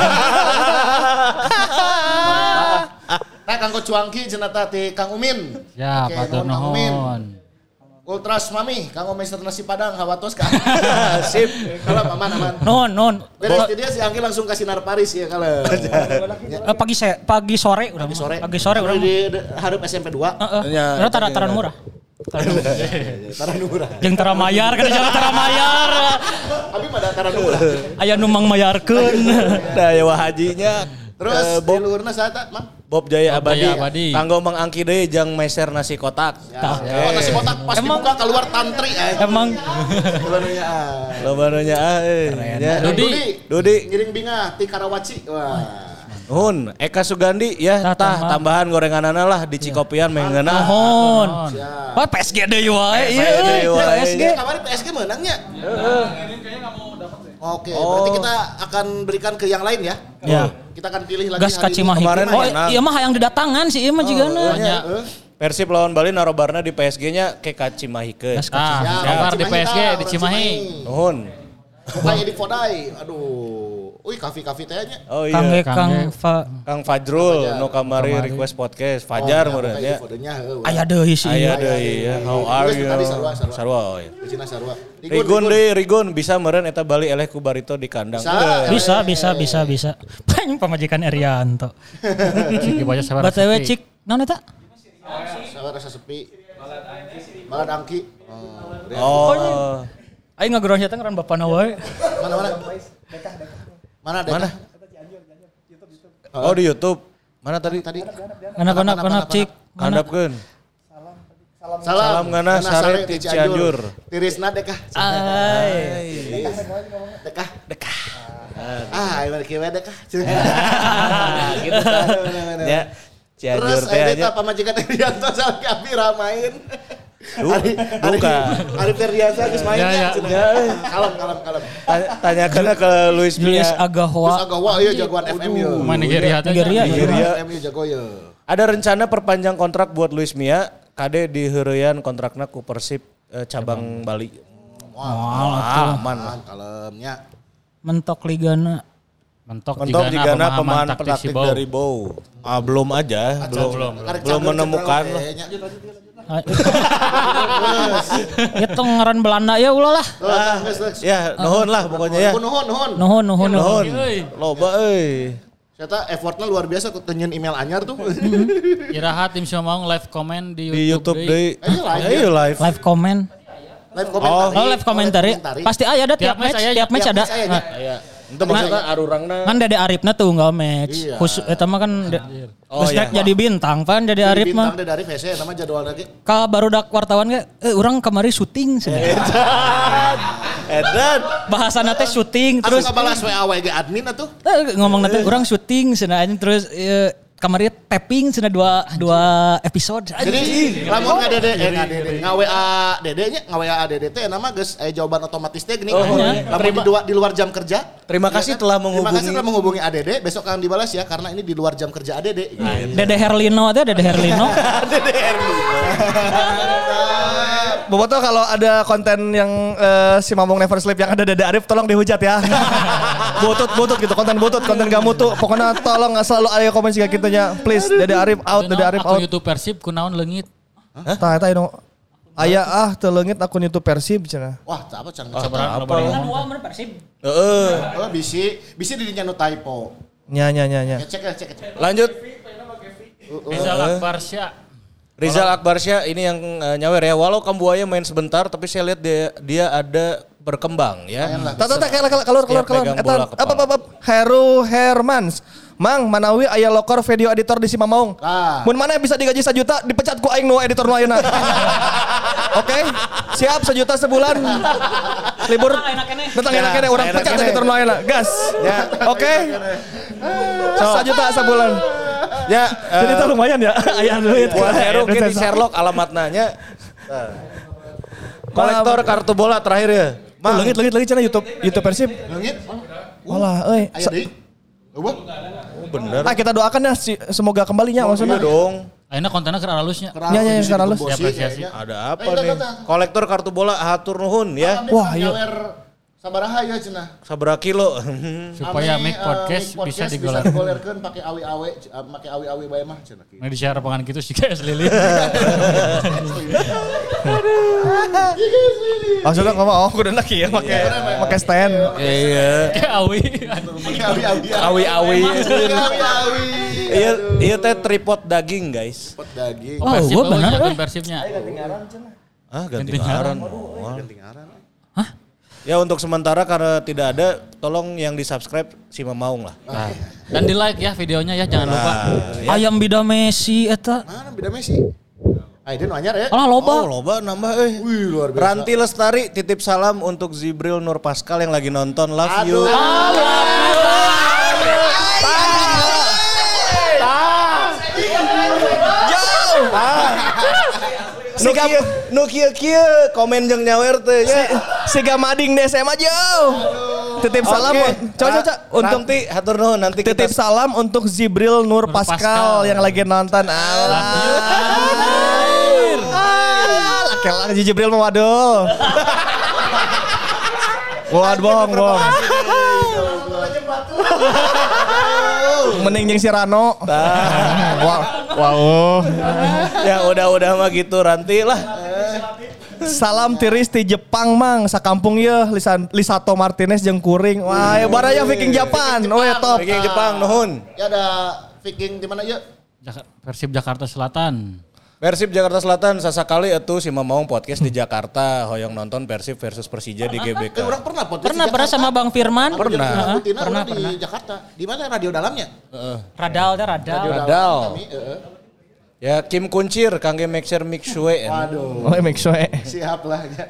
Nah, Kanggo Cuangki cenah teh Kang Umin. Ya, batur nuhun. Ultras Mami, Kanggo Mister Nasi Padang hawatos ka. Sip. Kalau aman. Non. Beres dia si Angki langsung kasih Sinar Paris ya kalau. Pagi sore urang. Pagi sore urang. Di hareup SMP 2. Heeh. Taran murah. Taran murah. Jeung tara mayar kan jangan tara mayar. Abi pada taran murah. Aya nu mang mayarkeun. Da ya hajinya. Terus di luarna saha Mang? Bob Jaya Abadi. Kanggo Mang Angki deui jeung meser nasi kotak. Oh, nasi kotak pas dibuka keluar tantri Emang Loba nya Dudi ngiring bingah ti Karawaci. Wah. Nuhun, Eka Sugandi ya tambahan gorenganana lah di Cikopian mengeuna. Nuhun. Wah PSG deui wae. PSG. Kamari PSG menangnya. Oke, berarti kita akan berikan ke yang lain ya. Ya. Kita akan pilih lagi Gas Kacimahi. Oh, iya mah hayang didatangan sih ieu mah jigana. Persib lawan Bali narobarna di PSG-nya ke Kacimahikeun. Kabar di PSG di Cimahi. Nuhun. Kayak di Fodai. Aduh. Uy, kafe-kafe teh nya. Oh iya. Kang Fajrul nu kamari request podcast Fajar meureun ya. Aya deui sih. Aya deui ya. How are you? Sarua. Di Cina Sarua. Rigun bisa meureun eta Bali eleh ku Barito di kandang. Bisa. Paling pamajikan Erianto. Cik baca sabar. BTW cik naon eta? Sabar rasa sepi. Balad Angki. Oh. Aing ngageron eta ngaran bapana wae. Mana? Mana? Oh di YouTube. Mana tadi? Ganap cik. Handapkeun. Salam ngana sare ti Cianjur. Tirisna dekah. Dekah. Ieu kieu dekah. Gitu kan. Ya. Cianjur Terus teh eta pamajikan Erianto salki abi ramain. Arif Ferdiansa geus main ya. Kalem. Tanyakeun ke Luis Mia. Julius Agawa ieu jagoan FMU. Pemain Nigeria. FMU jago ya. Ada rencana perpanjang kontrak buat Luis Mia. Kade diheureuyaan kontrakna ku Persib cabang Bali. Wah, aman kalemnya. Mentok ligana Ligana pemain taktik dari Bow. Belum aja, belum menemukan. Itu ngaran Belanda ya ulah lah. Ya, nuhun lah pokoknya ya. Nuhun. Loba euy. Ternyata effortnya luar biasa ku tenyeun email anyar tuh. Iraha tim Siomong live comment di YouTube deui. Ayo live. Live comment. Live komentari. Pasti aya ada tiap match ada. Itu maksudnya arurangna. Kan Dede Arifna tunggal match. Khusus eta mah kan jadi bintang pan Dede Arif mah. Bintang Dede Arif hese nama jadwal lagi. Ka barudak wartawan ge urang kamari syuting cenah. Edan bahasana teh syuting terus ngabalas WA ge admin atuh. Ngomong nanti urang syuting cenah terus kamari tapping cenah dua episode. Jadi lamun nga-WA Dede nya nga-WA Dede teh nama geus jawaban otomatis teh gini. Lamun di luar jam kerja. Terima kasih telah menghubungi ADD. Besok akan dibalas ya karena ini di luar jam kerja ADD. Dede Herlino. Dede Herlino. Boboto kalau ada konten yang si Mamong Never Sleep yang ada Dede Arif tolong dihujat ya. Butut gitu, konten gak mutu. Pokoknya tolong selalu ada komen jika kitanya. Please Dede Arif out, Dede Arif out. YouTube Persib kunaon leungit. Tah eta anu Aya teleungit akun YouTube Persib cenah. Wah, apa can Sabar Kan dua bener Persib. Heeh. Oh, bisi dirinya nu typo. Nya. Cek. Lanjut. Rizal Akbarsya ini yang nyawer ya. Walau Kambuaya main sebentar tapi saya lihat dia ada berkembang ya. Keluar. pegang bola kepala. Apa Heru Hermans. Mang, manawi aya lokor video editor di Simamaung. Mun mana bisa digaji 1 juta dipecat ku aing nu editor nu ayeuna. Oke? Siap 1 juta sebulan. Libur. Datang enak kene urang pecat editor nu ayeuna. Gas. Ya. Oke? 1 juta sebulan. Ya, jadi itu lumayan ya. Aya duit. Buat Heru di Sherlock alamatnya. Kolektor kartu bola terakhir ya. Mang, leungit lagi cenah YouTube Persib. Leungit. Walah, euy. Aya deui. Oh bener. Kita doakan ya semoga kembalinya maksudnya. Iya dong. Ayeuna kontennya keur halusnya. Nya secara halus. Apresiasi. Ada apa nih? Kolektor kartu bola hatur nuhun ya. Wah, iya. Sabaraha ya cenah. Sabaraha kilo. Supaya make podcast bisa digolerkeun pakai awi-awi, make awi-awi bae mah cenah. Nah di share pangan kitu sih guys lilin. Maksudnya ngomong kudu lagi ya pakai stand. Iya. Kayak awi. Awi-awi. Iya teh tripod daging guys. Tripod daging. Oh, gua bener. Persibnya. Ganti ngaran. Hah? Ya untuk sementara karena tidak ada, tolong yang di-subscribe si Mamaung lah. Dan di-like ya videonya ya, jangan lupa. Ayam bida Messi eta. Mana bida Messi? Dia nu anyar ya. Alah loba. Oh, loba nambah Wih, luar biasa. Ranti Lestari titip salam untuk Zibril Nur Pascal yang lagi nonton. Love you. Nu kieu komen jeung nyawer teh ya. Siga mading di SMA jauh. Titip salam coba untuk hatur nuhun nanti titip salam untuk Zibril Nur Pascal yang lagi nonton. Laki-laki Jibril mah waduh. Bohong. Mending jeung si Rano. Wow. Ya udah mah gitu Ranti lah. Salam tiris di Jepang mang sakampung ye Lisato Martinez jeung kuring. Wah, baraya Viking Japan. Top. Viking Jepang nuhun. Ya ada Viking di mana ya? Persib Jakarta Selatan. Persib Jakarta Selatan sasakali atuh si Mamaung podcast di Jakarta hoyong nonton Persib versus Persija di GBK. Orang pernah podcast Pernah sama Bang Firman. Pernah di Jakarta. Di mana radio dalamnya? Radal. Ya Kim Kuncir kangge mixer mixue. Waduh. Mixue. Siap lah ya.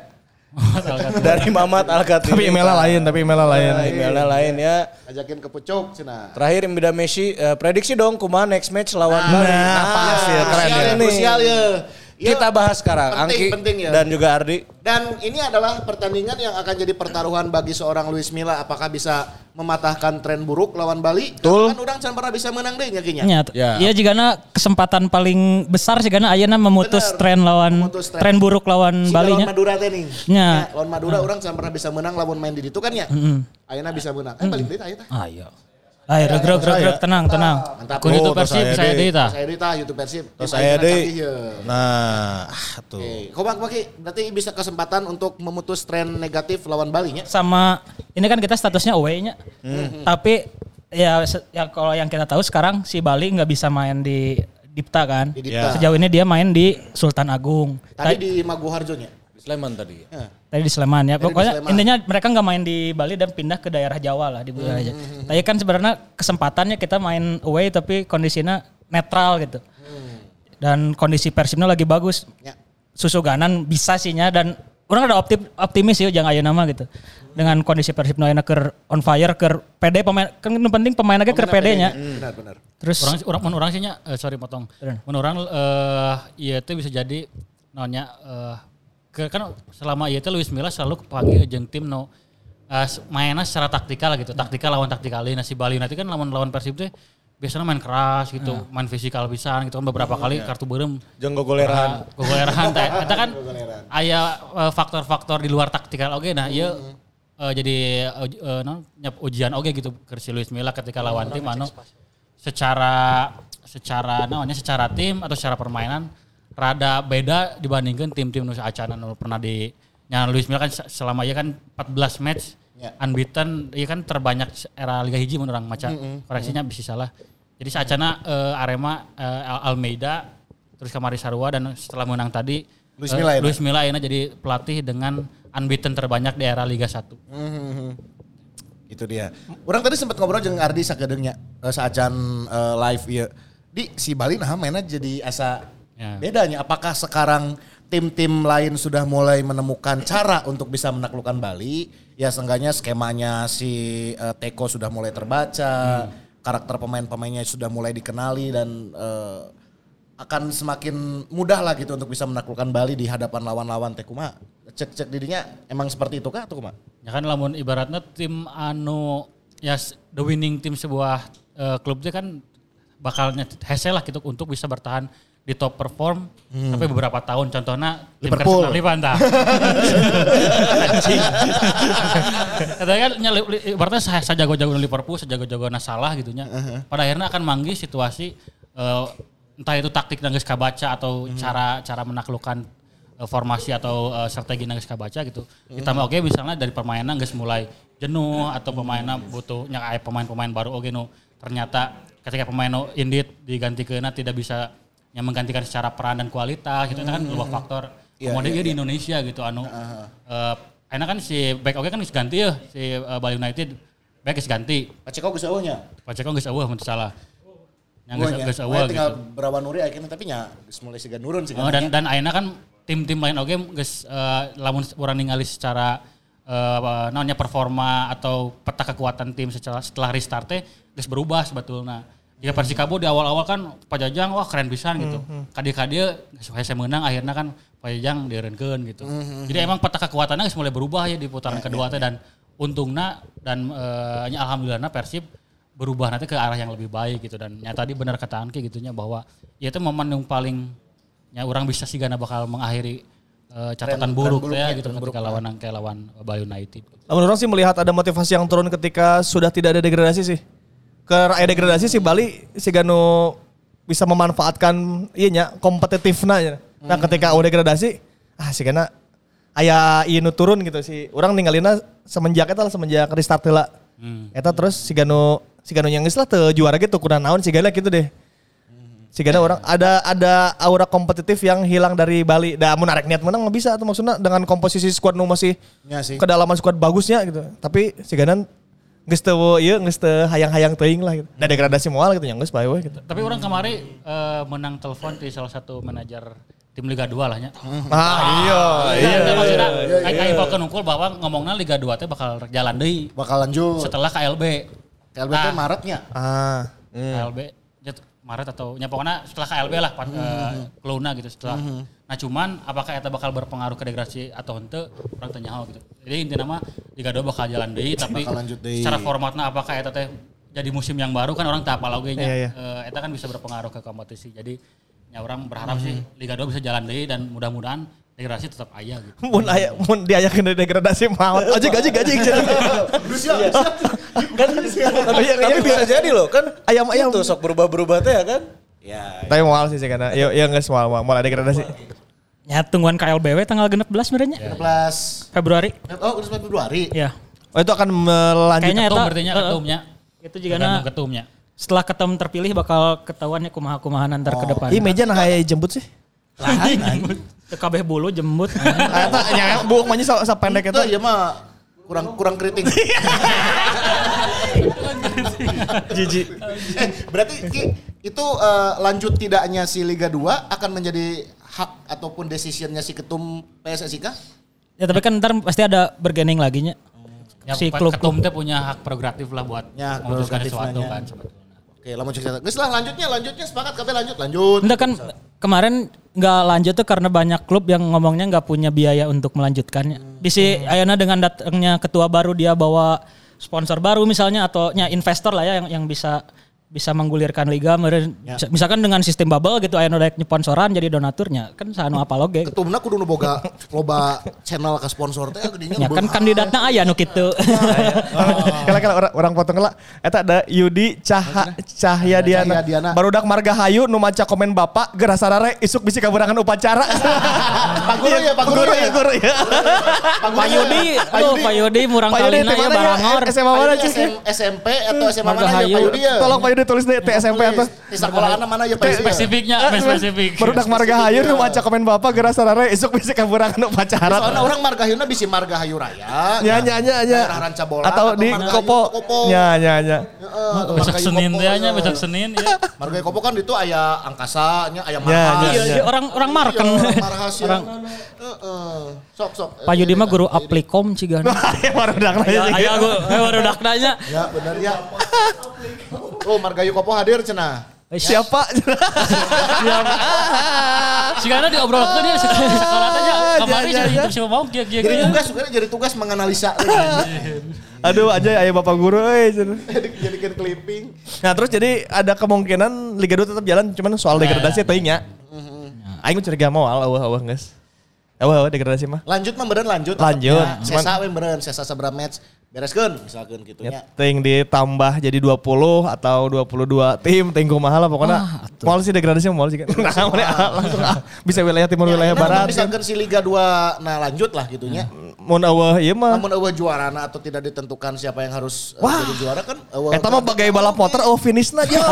Dari Mamat Al-Khatib. Tapi emailnya lain. Emailnya lain ya. Ajakin ke pucuk cenah. Terakhir Bida Messi prediksi dong kumaha next match lawan Bali. Pas ya keren ya. Krusial ya. Kita bahas sekarang penting, Angki ya. dan juga Ardi. Dan ini adalah pertandingan yang akan jadi pertaruhan bagi seorang Luis Milla apakah bisa mematahkan tren buruk lawan Bali. Betul. Kan orang can pernah bisa menang deh nyakinya. Iya jigana kesempatan paling besar jigana ayeuna memutus tren tren buruk lawan Bali nya. Lawan Madura teh nih. Nya. Lawan Madura orang can pernah bisa menang lawan main di ditu kan ya. Ayeuna bisa menang. Balik deui aya teh. Ayo. Ayo regreg tenang. Mantap. Kun YouTube Persib saya deui tah. Saya deui tah YouTube Persib. Saya deui. Nah, tuh. Kompak Maki berarti bisa kesempatan untuk memutus tren negatif lawan Bali nya. Sama ini kan kita statusnya away-nya. Tapi ya kalau yang kita tahu sekarang si Bali nggak bisa main di Dipta kan. Sejauh ini dia main di Sultan Agung. Tadi di Maguharjo nya. Sleman tadi. Tadi di Sleman ya. Pokoknya intinya mereka nggak main di Bali dan pindah ke daerah Jawa lah di Bali aja. Tapi kan sebenarnya kesempatannya kita main away tapi kondisinya netral gitu. Dan kondisi Persibnya lagi bagus. Susuganan bisa sihnya dan orang ada optimis ya jangan ayeuna mah gitu. Dengan kondisi Persib nu ayeuna keur on fire, keur pede pemain kan nu penting pemain ge keur pede nya. Benar. Terus orang sih nya sorry potong. Mun orang ieu teh bisa jadi naonnya kan selama ieu teh Luis Milla selalu kepanggil jeung tim nu mainnya secara taktikal gitu. Taktikal lawan taktikalin. Si Bali nanti kan lawan Persib teh biasanya main keras gitu, main fisikal pisan gitu kan beberapa kali kartu beureum. Jeung gogoleran. Teh. Eta kan aya faktor-faktor di luar taktikal oge nah ieu jadi ujian oge gitu ke si Luis Milla ketika lawan tim anu secara tim atau secara permainan rada beda dibandingkan tim-tim nu acana nu pernah di Luis Milla kan selama kan 14 match unbeaten, iya kan terbanyak era Liga Hiji mun urang maca. Koreksinya bisa salah. Jadi saacana Arema Almeida terus kamari Sarua dan setelah menang tadi Luis Milla ayeuna jadi pelatih dengan unbeaten terbanyak di era Liga 1. Itu dia. Orang tadi sempat ngobrol jeung Ardi sakedeungnya saacan live ieu. Di si Bali nah mainnya jadi asa bedanya. Apakah sekarang tim-tim lain sudah mulai menemukan cara untuk bisa menaklukkan Bali? Ya seenggaknya skemanya si Teko sudah mulai terbaca, karakter pemain-pemainnya sudah mulai dikenali dan akan semakin mudah lah gitu untuk bisa menaklukkan Bali di hadapan lawan-lawan Teko mah. Cek didinya emang seperti itu kah atau kumaha? Ya kan lamun ibaratnya tim anu ya the winning tim sebuah klub itu kan bakalnya hese lah gitu untuk bisa bertahan di top perform sampai beberapa tahun. Contohnya Liverpool. Liverpool. Anjing. Katanya kan ibaratnya sajago-jago Liverpool, sajago-jago salah gitunya. Pada akhirnya akan manggih situasi entah itu taktik nanggeus kabaca atau cara menaklukkan formasi atau strategi nanggeus kabaca gitu. Ditambah oke misalnya dari permainan geus mulai jenuh atau pemainnya butuh aya pemain-pemain baru oke nu ternyata ketika pemain indit digantikan tidak bisa yang menggantikan secara peran dan kualitas gitu, itu kan dua faktor. Kemudian di Indonesia gitu enak kan si back oke kan geus ganti ya si Bali United back geus ganti. Paceko geus eueuhnya. Paceko geus eueuh mun salah. Yang geus eueuh gitu. Tinggal Berawan Nuri akhirnya tapi nya geus mulai siga nurun sih. Dan ayeuna kan tim-tim lain oke geus lamun urang ningali secara namanya performa atau peta kekuatan tim setelah restart geus berubah sebetulnya. Ya Persikabo di awal-awal kan Pajajang wah keren pisan gitu. Kadi-kadi saya menang akhirnya kan Pajajang dieureunkeun gitu. Jadi emang peta kekuatannya mulai berubah ya di putaran kedua teh dan untungna dan alhamdulillahna Persib berubah nanti ke arah yang lebih baik gitu dan nyata tadi benar kata Anki gitunya bahwa ya itu momen yang paling ya orang bisa sih gana bakal mengakhiri catatan buruk ya gitu ketika lawan Bali United. Namun orang sih melihat ada motivasi yang turun ketika sudah tidak ada degradasi sih. Ke aya degradasi si Bali si Ganu bisa memanfaatkan ianya kompetitifna ya. Nah ketika udah degradasi si Gana aya ieu nu turun gitu sih. Urang ninggalina semenjak restart heula. Eta terus si Ganu yang geus lah teu juara gitu kurang naon si Gana gitu deh. Si Gana orang ada aura kompetitif yang hilang dari Bali. Da mun arek niat menang mah bisa tuh maksudnya dengan komposisi skuad nu masih kedalaman skuad bagusnya gitu. Tapi si Gana geus teu hayang-hayang teuing lah gitu. Da degradasi moal gitu nya geus bae we gitu. Tapi orang kemarin menang telepon di salah satu manajer tim Liga 2 lah nya. Iya. Maksudnya kayak infokeun unggul bahwa ngomongna Liga 2 teh bakal jalan deui. Bakal lanjut. Setelah KLB. KLB teh Maretnya. KLB Maret atau nya pokoknya setelah KLB lah Keluna gitu setelah. Nah cuman apakah eta bakal berpengaruh ke degradasi atau henteu urang teu nyaho gitu. Jadi intinya mah Liga 2 bakal jalan deui tapi secara formatna apakah eta teh jadi musim yang baru kan orang teu apal oge nya. Eta kan bisa berpengaruh ke kompetisi. Jadi ya orang berharap sih Liga 2 bisa jalan deui dan mudah-mudahan degradasi tetap aya gitu. Mun diayakeun degradasi maot. Gaji. Tapi bisa jadi loh kan ayam itu sok berubah-berubah teh ya kan. Ya. Tapi moal sih karena ya geus moal degradasi. Ya tungguan KLBW tanggal 16 sebenarnya. 16 Februari. Oh, 16 Februari. Ya. Oh itu akan melanjut ketumnya. Itu juga ketumnya. Setelah ketum terpilih bakal ketahuannya kumaha-kumahan antar ke depan. Ih meja nah aya jembut sih. Lain. Kabeh bulu jembut. Eta nya buuk mah nya pendek eta. Ieu mah kurang keriting. Jiji. Berarti itu lanjut tidaknya si Liga 2 akan menjadi hak ataupun decisionnya si ketum PSSI kah? Ya tapi kan ntar pasti ada bergening lagi nya. Ya, si klub ketum teh punya hak prerogatif lah buat memutuskan sesuatu kan sebetulnya. Oke, lamun cerita. Geus lah lanjutnya sepakat kabeh lanjut. Enggak kan kemarin enggak lanjut tuh karena banyak klub yang ngomongnya enggak punya biaya untuk melanjutkannya. Di si ayeuna dengan datangnya ketua baru dia bawa sponsor baru misalnya atau investor lah ya yang bisa bisa menggulirkan liga meureun misalkan dengan sistem bubble gitu aya nu daek nyeponsoran jadi donaturnya kan sanu apa loge ketumna kudu nu boga loba channel ka sponsor teh gedinya ya kan kandidatna aya nu kitu kala orang potong lah eta ada Yudi Cahyadiana barudak Margahayu nu maca komen bapak geura sarare isuk bisi kaburangan upacara Pak Guru ya Pak Yudi murang kalina ya barangor SMA mana sih SMP atau SMA mana ya Pak Yudi ya tolong Pak Yudi tulis deh SMP atau di sekolahanna mana ya Pak Yudi spesifiknya spesifik barudak Margahayu nu maca komen bapak geura sarare isuk bisi kaburangan upacara soalnya orang Margahayuna bisi Margahayu Raya nya Ranca Bola atau di Kopo nya besok Senin teh nya besok Senin ya Margahayu Kopo kan itu aya angkasa nya aya marhas iya orang marken marhas sok Pak Yudi mah guru aplikom cigana barudak aya barudak nanya ya bener ya oh Margahayu Kopo hadir cenah siapa sigana diobrolkeun dia sekolah teh kamari jadi mau jadi tugas menganalisa aduh aja aya bapak guru jadikan clipping nah terus jadi ada kemungkinan Liga 2 tetap jalan cuman soal degradasi teuing nya aing curiga moal eueuh geus eueuh degradasi mah lanjut mah beureun lanjut sesa we beureun sesa sabaraha match bereskeun misalkan gitu nya ting ditambah jadi 20 atau 22 tim ting kumaha lah pokoknya moal sih degradasi moal sih kan langsung bisa wilayah timur wilayah barat misalkan si Liga 2 nah lanjut lah gitu nya mun eueuh ieu mah namun eueuh juarana atau tidak ditentukan siapa yang harus jadi juara kan eta mah bagai balap motor finishna jeung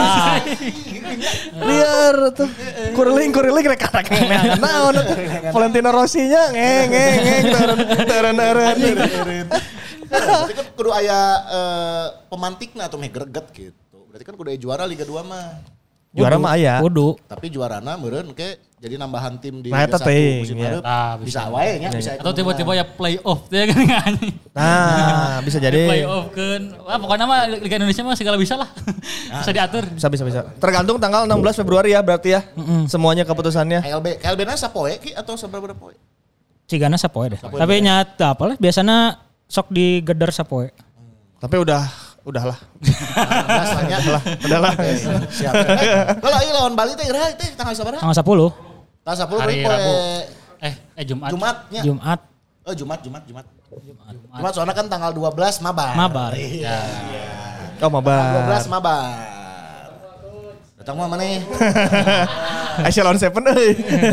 liar tuh kuriling rek naon Valentino Rossi nya ngeng teureun berarti kan kudu aya pemantikna atau meh greget gitu. Berarti kan kudu aya juara Liga 2 mah. Juara mah aya. Kudu. Tapi juarana meureun ke jadi nambahan tim di Liga 1 musim baru. Bisa wae nya, bisa. Atau tiba-tiba ya playoff teh kan anjing. Nah, bisa jadi. Playoff kan. Wah, pokoknya mah Liga Indonesia mah segala bisa lah. Bisa diatur. Bisa. Tergantung tanggal 16 Februari ya berarti ya. Semuanya keputusannya. KLB-na sapoe ki atau saberapa poe? Cigana sapoe deh. Tapi nyata apalah biasanya sok digeder sapoe. Tapi udahlah. Udahlah. Siap. Kalau ieu lawan Bali teh iraha teh tanggal sabaraha? Tanggal 10. Tanggal 10 hari poe Rabu. Jumat. Jumatnya. Jumat. Oh, Jumat. Jumat soalnya kan tanggal 12 mabar. Iya. Oh, mabar. 12 mabar. Datang mah mana? Echelon 7 euy.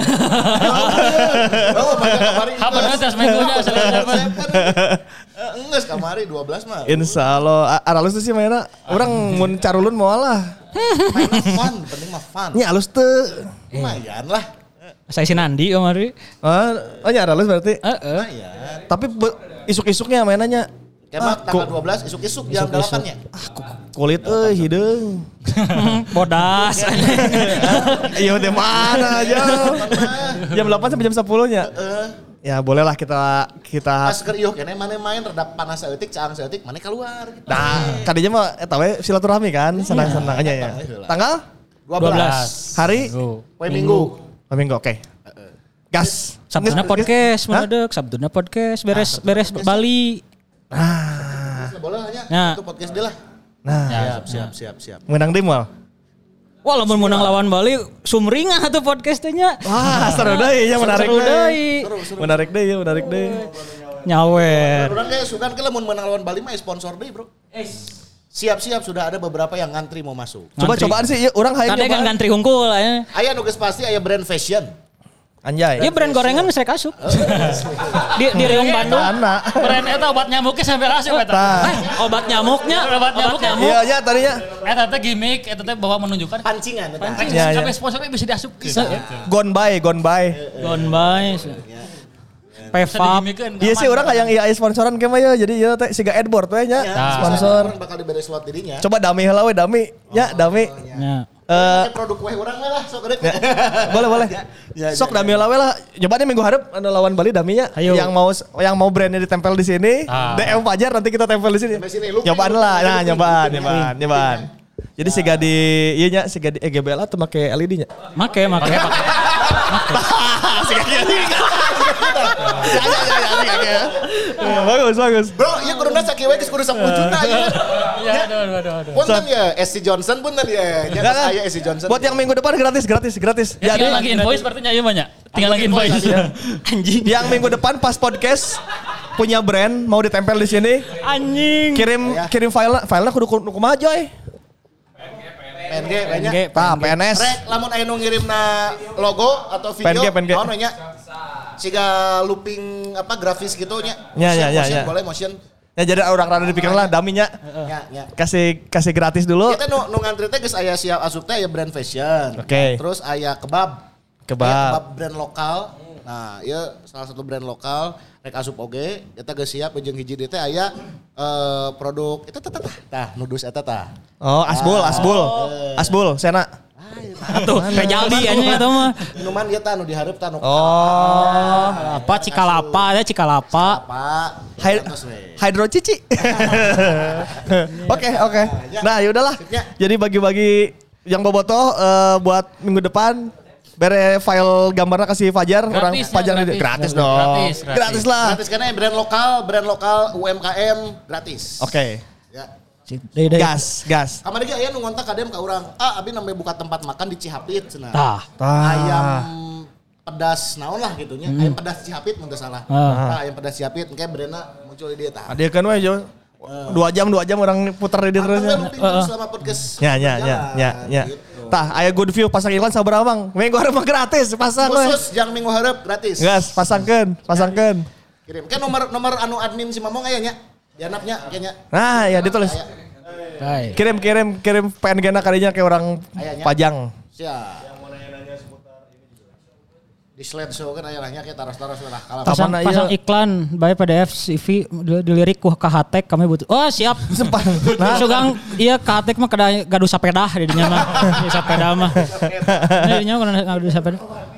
Oh, kamari. Bener tes minggunya Echelon 7. Enggak kamari 12 mah. Insyaallah aralus tuh sih mainna. Urang mun carulun moal lah. Mainnya fun, penting mah fun. Nya alus teu. Lumayan lah. Saya si Nandi kemarin. Oh nya aralus berarti. Lumayan. Tapi isuk-isuknya mainannya. Kemak tanggal 12 isuk-isuk jam 8-nya. Kulit hideung. Bodas. Iya teh mana aja. Jam 8 sampai jam 10-nya. Ya bolehlah kita pas keur ieuh keneh mane main rada panas saeutik caang saeutik mane keluar gitu. Nah, kadinya mah eta we silaturahmi kan, senang-senang aja ya. Tanggal 12. Hari poe Minggu. Minggu oke. Gas. Sabtuna podcast mendadak, Sabtuna podcast beres Bali. Boleh hanya itu podcast dia lah. Nah, siap. menang di mall. Wah, lamun menang lawan Bali sumringah tuh podcastnya. Wah, seru deui ya menarik deui. Menarik deui. Nyawer. Urang ge sugan ke lamun menang lawan Bali mah sponsor deui, Bro. Siap-siap sudah ada beberapa yang ngantri mau masuk. Coba-cobaan sih urang hayang nyoba. Kan ngantri hungkul aya. Aya nu geus pasti aya brand fashion. Anjay. Iya brand gorengan bisa kasuk. Di Riung Bandung. Brand eta obat nyamuknya sampai rasa eta. Obat nyamuknya. Obat nyamuk. Iya ya tadinya. Eta teh gimmick, eta teh bawa menunjukkan Pancingan. Ya. Sampai sponsornya bisa diasup. Gone by. Gone by. Pevap. Iya sih orang yang iya sponsoran kemah ya. Jadi ya teh siga Adboard we nya sponsor. Bakal diberi slot dirinya. Coba dami heula we dami. Ya dami. Ya. Produk kue urang lah sok gede. Boleh. Sok dami heula we lah. Coba nih minggu hareup lawan Bali daminya. Yang mau brandnya ditempel di sini. DM Fajar nanti kita tempel di sini. Nyobaan lah. Nah, nyobaan. Jadi siga di ieu nya siga di EGBL atau make LED nya? Make. Bagus. Bro, iya kuruna sakieu geus kudu 10 juta ya. Ya, aduh. Punten ya, SC Johnson punten ya. Nya saya SC Johnson. Buat yang minggu depan gratis. Ya, tinggal lagi invoice sepertinya iya banyak. Tinggal lagi invoice. Anjing. Yang minggu depan pas podcast punya brand mau ditempel di sini. Anjing. Kirim filenya kudu kumaha Joy? PNG banyak. PNS. Rek lamun aya nu ngirimna logo atau video PNG. naon we nya? Siga looping grafis gitu nya. Ya. Boleh motion. Ya jadi orang rada dipikirin lah daminya. Ya. Kasih gratis dulu. Kita nu ngantri teh geus aya siap asup teh aya brand fashion. Oke. Terus aya kebab. Kebab brand lokal. Nah, ieu salah satu brand lokal rek asup oge eta geus siap jeung hiji dieu teh aya produk eta tah nudus eta tah. Oh, Asbul, Sena. Atuh, Pejaldi anjing eta mah. Minuman ieu tah nu dihareup tah nu. Oh, Apa Cikalapa. Apa? Hydro Cici. Oke. Nah, yaudahlah. Jadi bagi-bagi yang bobotoh buat minggu depan bere file gambarnya kasih Fajar, orang pajang gratis dong. Gratis lah. Gratis karena brand lokal UMKM gratis. Oke. Ya. Gas. Kamari ge aya nu ngontak kadem ka urang. Abi nambe buka tempat makan di Cihapit cenah. Ayam pedas naon lah gitu nya. Ayam pedas Cihapit mun teu salah. Ayam pedas Cihapit engke brandna muncul di dieu tah. Adiekeun we Jo. 2 jam orang putar di terus. Selama podcast. Ya. Gitu. Tah, aya good view pasang iklan sabaraha Bang? Minggu hareup mah gratis, pasang we. Khusus jang minggu hareup gratis. Gas, pasangkeun. Kirim. Kan nomor anu admin si Mamong aya nya. Dianapnya kayaknya. Nah, ya ditulis. Kirim PNG-na kadinya ke orang pajang. Siap. Di slideshow kan aya lahnya kayak taras-taras lah kalah. Pasang iklan bae PDF CV dilirik ku KHTek kami butuh. Oh siap. Nah, sugang iya KHTek mah kada gaduh sapeda di dinya mah. Di sapeda mah. Di dinya kana gaduh sapeda.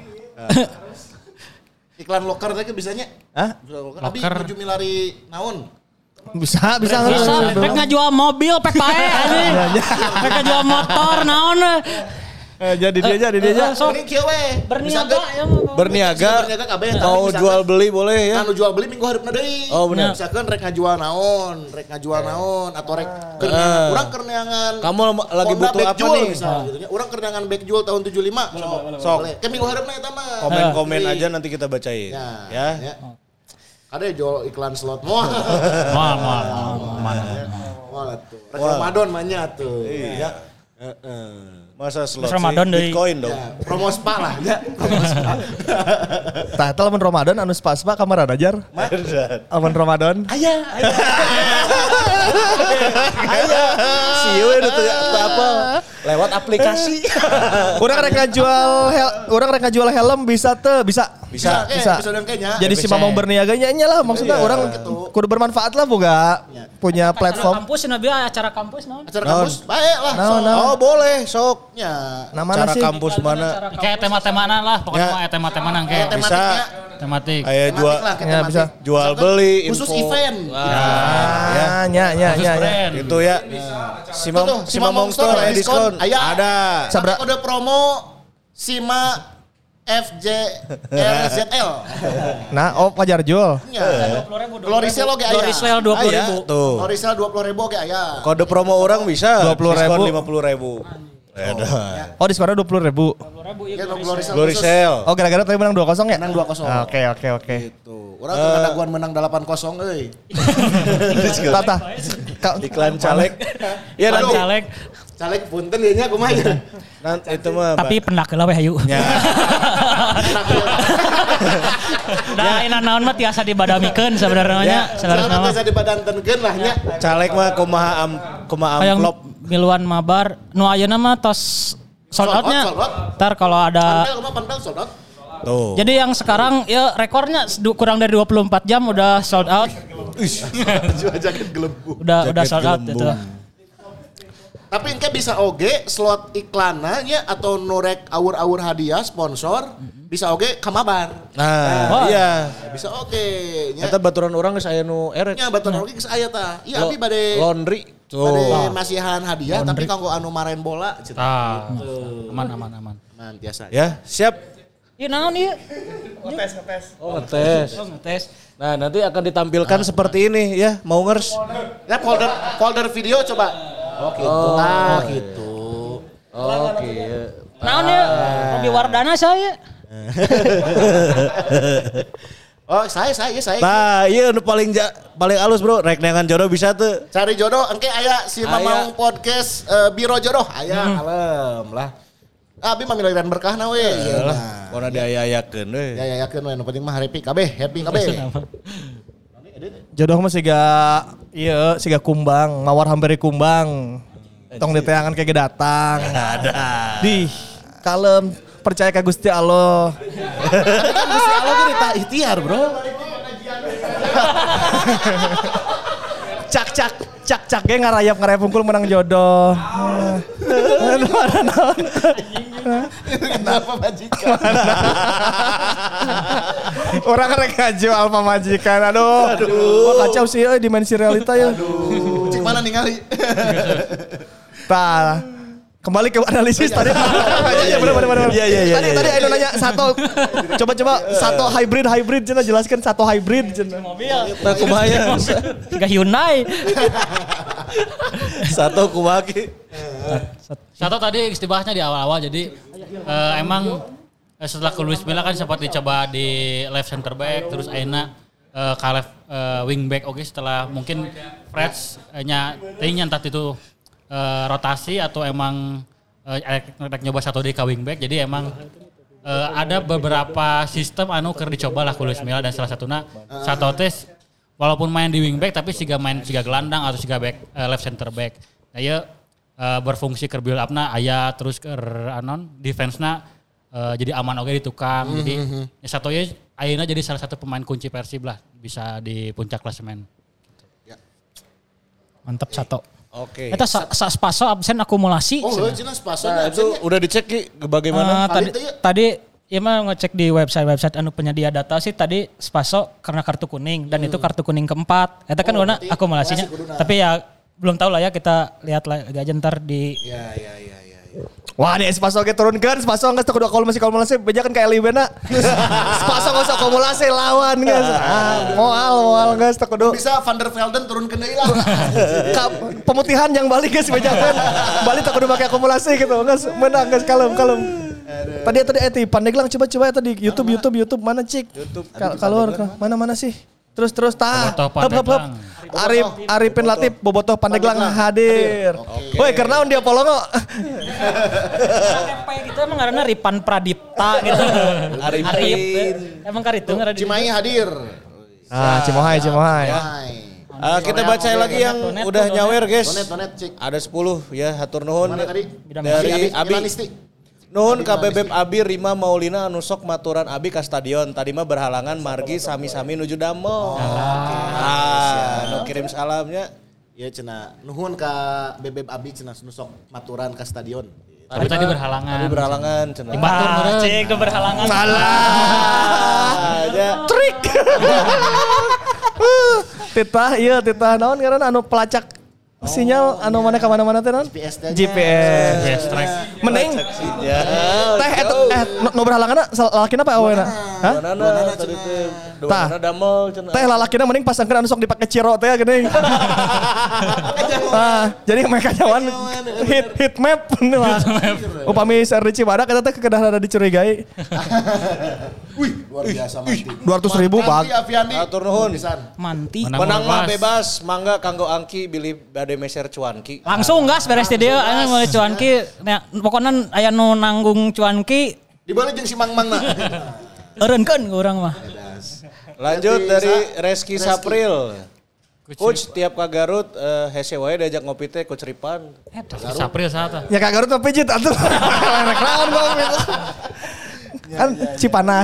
Iklan loker teh bisanya? Hah? Abi menuju milari naon? Bisa. Pek ngajual mobil pek pae anjing. Pek ngajual motor naon. Jadi dia aja. Mending kieu we. Berniaga kabeh. Mau jual beli boleh ya. Anu jual beli minggu hareupna deui. Oh benar. Misalkan rek ngajual naon atau rek urang keur neangan. Kamu lagi butuh apa nih? Gitu nya. Urang keur neangan bag jewel tahun 75. Sok. Ke minggu hareupna eta mah. Komen aja nanti kita bacain. Ya. Ada jual iklan slot mau. Mana tuh. Ramadan manya tuh. Iya. Masa slot Ramadan Bitcoin dong. Ya, promo spa lah ya. Promo spa. Tah eta lamun Ramadan anu spa kamar ajar. Amun Ramadan. Aya. Sieu itu apa? Lewat aplikasi. Urang rek ngajual helm bisa teu? Bisa. Jadi si Mamong berniaga nya lah maksudnya orang kudu bermanfaat lah boga punya platform. Kampus nabi acara kampus naon? Acara kampus bae lah. Oh boleh sok. Ya. Namana Cara sih? Kampus mana? Kayak tema-temanan lah, pokoknya mah tema-temanan kayak Bisa. Tematik. Kayak bisa. jual beli info. Khusus event. Ya. Itu ya. Si Mamong Store ada diskon. Ada. Sabra kode promo Sima FJRZL. Nah, Fajar jual. Glorisel oge aya. Glorisel 20.000. Tuh. Glorisel 20.000 oge aya. Kode promo orang bisa 20.000. diskon 50.000. Oh, diskonnya 20.000. Ya Glorisel. Glorisel. Oh, gara-gara tadi menang 2-0 ya? Menang 2-0. Oke. Gitu. Urang teu ngadaguan menang 8-0 euy. Tata. Iklan caleg. Ya nanti. Caleg punten ieu nya kumaha ya. Nanti itu mah. Tapi pendak heula we hayu. Ya. Da ina naon mah tiasa dibadamikeun sebenarnya nya. Salah tiasa dibadantenkeun lah nya. Caleg mah kumaha amplop. Miluan mabar nu ayeuna mah tos sold out-nya. Ntar kalau ada Panpel sold out. Tuh. Jadi yang sekarang ya rekornya kurang dari 24 jam udah sold out. Jual jaket gelembung. Udah sold out itu. Tapi engke bisa oge slot iklanna nya atau norek awur-awur hadiah sponsor bisa oge kamabar. Nah, iya. Bisa oge nya. Eta baturan orang geus aya nu eret. Nya baturan oge geus aya tah. Iya abi bade laundry. Bade masihan hadiah tapi kanggo anu marahin bola. Aman. Aman biasa. Ya, siap. Iya naon ieu? Ngetes. Nah, nanti akan ditampilkan seperti ini ya, Maungers. Ya folder video coba. Oh gitu. Gitu. Oke. Naon ieu? Robi Wardana saya. Oh saya. Nah, iya paling halus bro, rek neangan jodoh bisa tuh. Cari jodoh, engke aya si Mamang podcast Biro Jodoh, aya kalem lah. Abi mah milarian berkahna we. Iyalah, pona diayayakeun we. Ya yakeun we, nu penting mah happy kabeh. Jodoh mah siga kumbang, mawar hampir kumbang. Tong diteangan kayak datang. Ada. Di kalem percaya ka Gusti Allah. Gusti Allah ge ditah ikhtiar, Bro. Cak ge ngarayap hungkul menang jodoh. Kenapa majikan? Orang rek ngajual pamajikan. Aduh. Oh, kacau sih dimensi realita ya. Cik mana ningali? Tah. Kembali ke analisis tadi. Iya benar. Iya. Tadi Aino nanya satu. Coba satu hybrid cenah jelaskan satu hybrid cenah. Mobil. Nah, kumaha? Tiga Hyundai. Satu kumaha ki? Satu tadi dibahasnya di awal-awal jadi emang setelah ke Luis Milla kan sempat dicoba di left center back terus akhirnya ke left wing back oke setelah mungkin Freds nyantat itu rotasi atau emang nyoba satu di ke wing back jadi emang ada beberapa sistem keur dicoba lah ke Luis Milla dan salah satunya satu tes walaupun main di wing back tapi siga gelandang atau siga back left center back. Nah ya berfungsi ke build up-na aya terus ke defense-na jadi aman oge di tukang. Jadi satu ya ayeuna jadi salah satu pemain kunci Persib lah bisa di puncak klasemen. Mantap Sato. Oke. Eta Spaso absen akumulasi. Oh, jelas Spaso. Nah, itu udah dicek Ki bagaimana? Tadi ya mah ngecek di website anu penyedia data sih tadi Spaso karena kartu kuning dan itu kartu kuning keempat. Eta kan warna akumulasinya. Tapi ya belum tahu lah ya kita lihat lagi aja ntar di. Ya. Wah nih Spaso ge turunkeun, Spaso geus teu kudu akumulasi bejakan kayak Libena. Spaso geus akumulasi lawan geus. Moal geus teu kudu. Bisa Van der Velden turunkeun deui lah. Pemutihan yang balik geus bejakan. Balik teu kudu make akumulasi gitu. Geus menang geus kalem. Tadi Pandeglang coba ya tadi YouTube mana cik? Keluar mana sih? Terus tah. Hop. Arifin Latif Bobotoh Pandeglang hadir. Woi karena dia polongo. KTP gitu emang karena Ripan Pradipta gitu. Arifin. Emang karitu ngaran Cimahi hadir. Cimohai. Kita baca lagi yang udah nyawer guys. Donet cik. Ada 10 ya hatur nuhun tadi? dari Abi. Milanisti. Nuhun ka Bebeb Abi Rima Maulina anu sok maturan Abi ka stadion. Tadi mah berhalangan margi sami-sami nuju damel. Nu kirim salamnya. Ya cenah nuhun ka Bebeb Abi cenah nu sok maturan ka stadion. Tapi tadi berhalangan. Cenah. Batur meureun. Cek tuh berhalangan. Aja. Trik. Titah naon ngaranna anu pelacak sinyal anu mana ka mana-mana teh naon? GPS track. Mending. Teh nu berhalanganna lalakina apa awena? Hah? Duanana tadi teh. Duanana damel cenah. Teh lalakina mending pasangkeun anu sok dipake ciro teh geuning. Jadi mereka nyawan hit map lah. Upami share di Cibadak eta teh kedah ada dicurigai. Wih, luar biasa mati. 200.000 bag. Atur nuhun. Manti. Menang mah bebas, mangga kanggo Angki bili bade meser cuanki. Langsung gas beres di dieu anu mulai cuanki. Nya pokona aya nu nanggung cuanki. Dibalik jeung si Mang-Mangna. Eureunkeun ku urang mah. Lanjut dari Reski Sapril. Coach tiap ka Garut hese wae diajak ngopi teh Coach Ripan. Sapril saha Ya ka Garut mah pijit atuh. Naon ngopi. Kan Cipanas.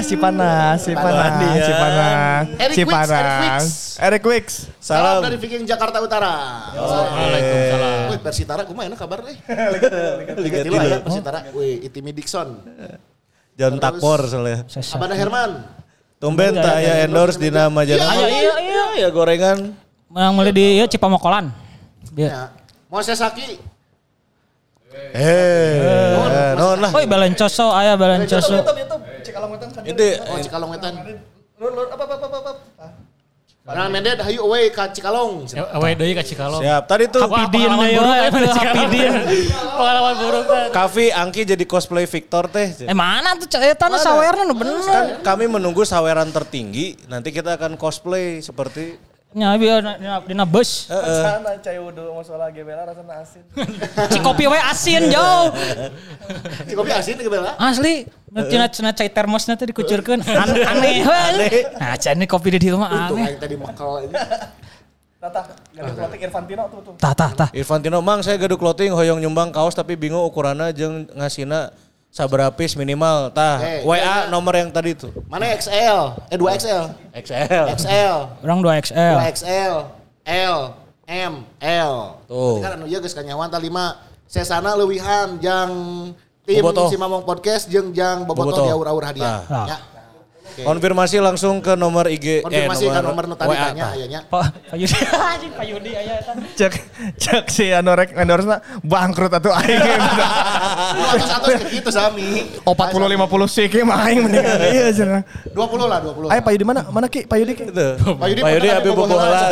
Eric Wicks. Salam dari Viking Jakarta Utara. Waalaikumsalam. Wih, Persitara kumaha kabar deh? Liga 3 ya Persitara. Wih, Itimi Dixon. John Takpor soalnya. Abada Herman. Tumben tak ya endorse di nama jalan. Iya gorengan. Yang mulai di Cipamokolan. Ya. Moses Saki. Non lah. Oi Balencoso aya Balencoso. Cikalong wetan kan. Cikalong wetan. Lur apa. Nah, Mendet hayu away ka Cikalong. Away deui ka Cikalong. Siap. Tadi tuh Hapidin deui Hapidin. Pengalaman buruk teh. Kavi Angki jadi cosplay Victor teh. Mana tuh eta sawerna bener. Kan kami menunggu saweran tertinggi, nanti kita akan cosplay seperti Nya biar dina bus. Sana cai wudu masalah gebela rasana asin. Cikopi we asin jauh. Cikopi asin gebela. Asli. Cenah cai termosna teh dikucurkeun. Aneh we. Nah, can kopi di dieu mah Untung aneh. yang tadi makal ini. Tah, gaduh clothing Irfantino tuh. Tah. Irfantino mang saya gaduh clothing hoyong nyumbang kaos tapi bingung ukuranna jeung ngasina sabaraha piece minimal. Tah, WA nomor yang tadi tuh. Mana XL? 2XL. XL. Orang 2XL. 2XL. L. M. L. Tuh. Kan anu ieu geus kanyawan tah 5. Sesana leuwihan jang tim Bobotoh. si Mamong Podcast jeung jang Bobotoh diaur-aur hadiah. Ya. Konfirmasi langsung ke nomor IG Konfirmasi ke nomor nu tadi WA, tanya tah. aya nya. Pak Yudi anjing Pak Yudi aya eta. Cek si anu rek endorse-na bangkrut atuh aing. Satu gitu sami. 40 50 sih ke mah aing mendingan ieu cenah. 20 lah 20. Ayo Pak Yudi mana? Mana Ki? Pak Yudi Ki? Itu. Pak Yudi Pak Yudi pernah abi bobogohan. bobogohan.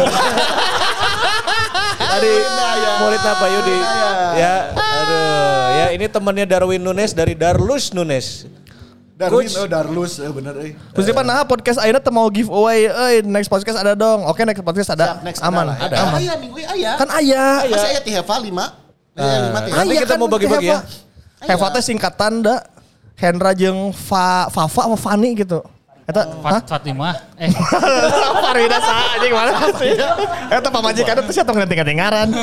Tadi muridnya Pak Yudi. Ya, aduh. Ya ini temannya Darwin Nunes dari Darlus Nunes. Darwin, Coach. Darlus, bener Terus Dipan nah podcast ayeuna teu mau giveaway. Next podcast ada dong. Oke, next podcast ada. Siap, next Aman. ada. Ada. Aman. Aya minggu aya. Kan aya. Masih aya ti Heva 5. Aya 5 teh. Nanti kita mau bagi-bagi ya. Heva teh singkatan da Hendra jeung Fafa apa Fani gitu. Eta Fatimah. Farida sa anjing mana sih? Eta pamajikan teh sia tong ganti-ganti ngaran.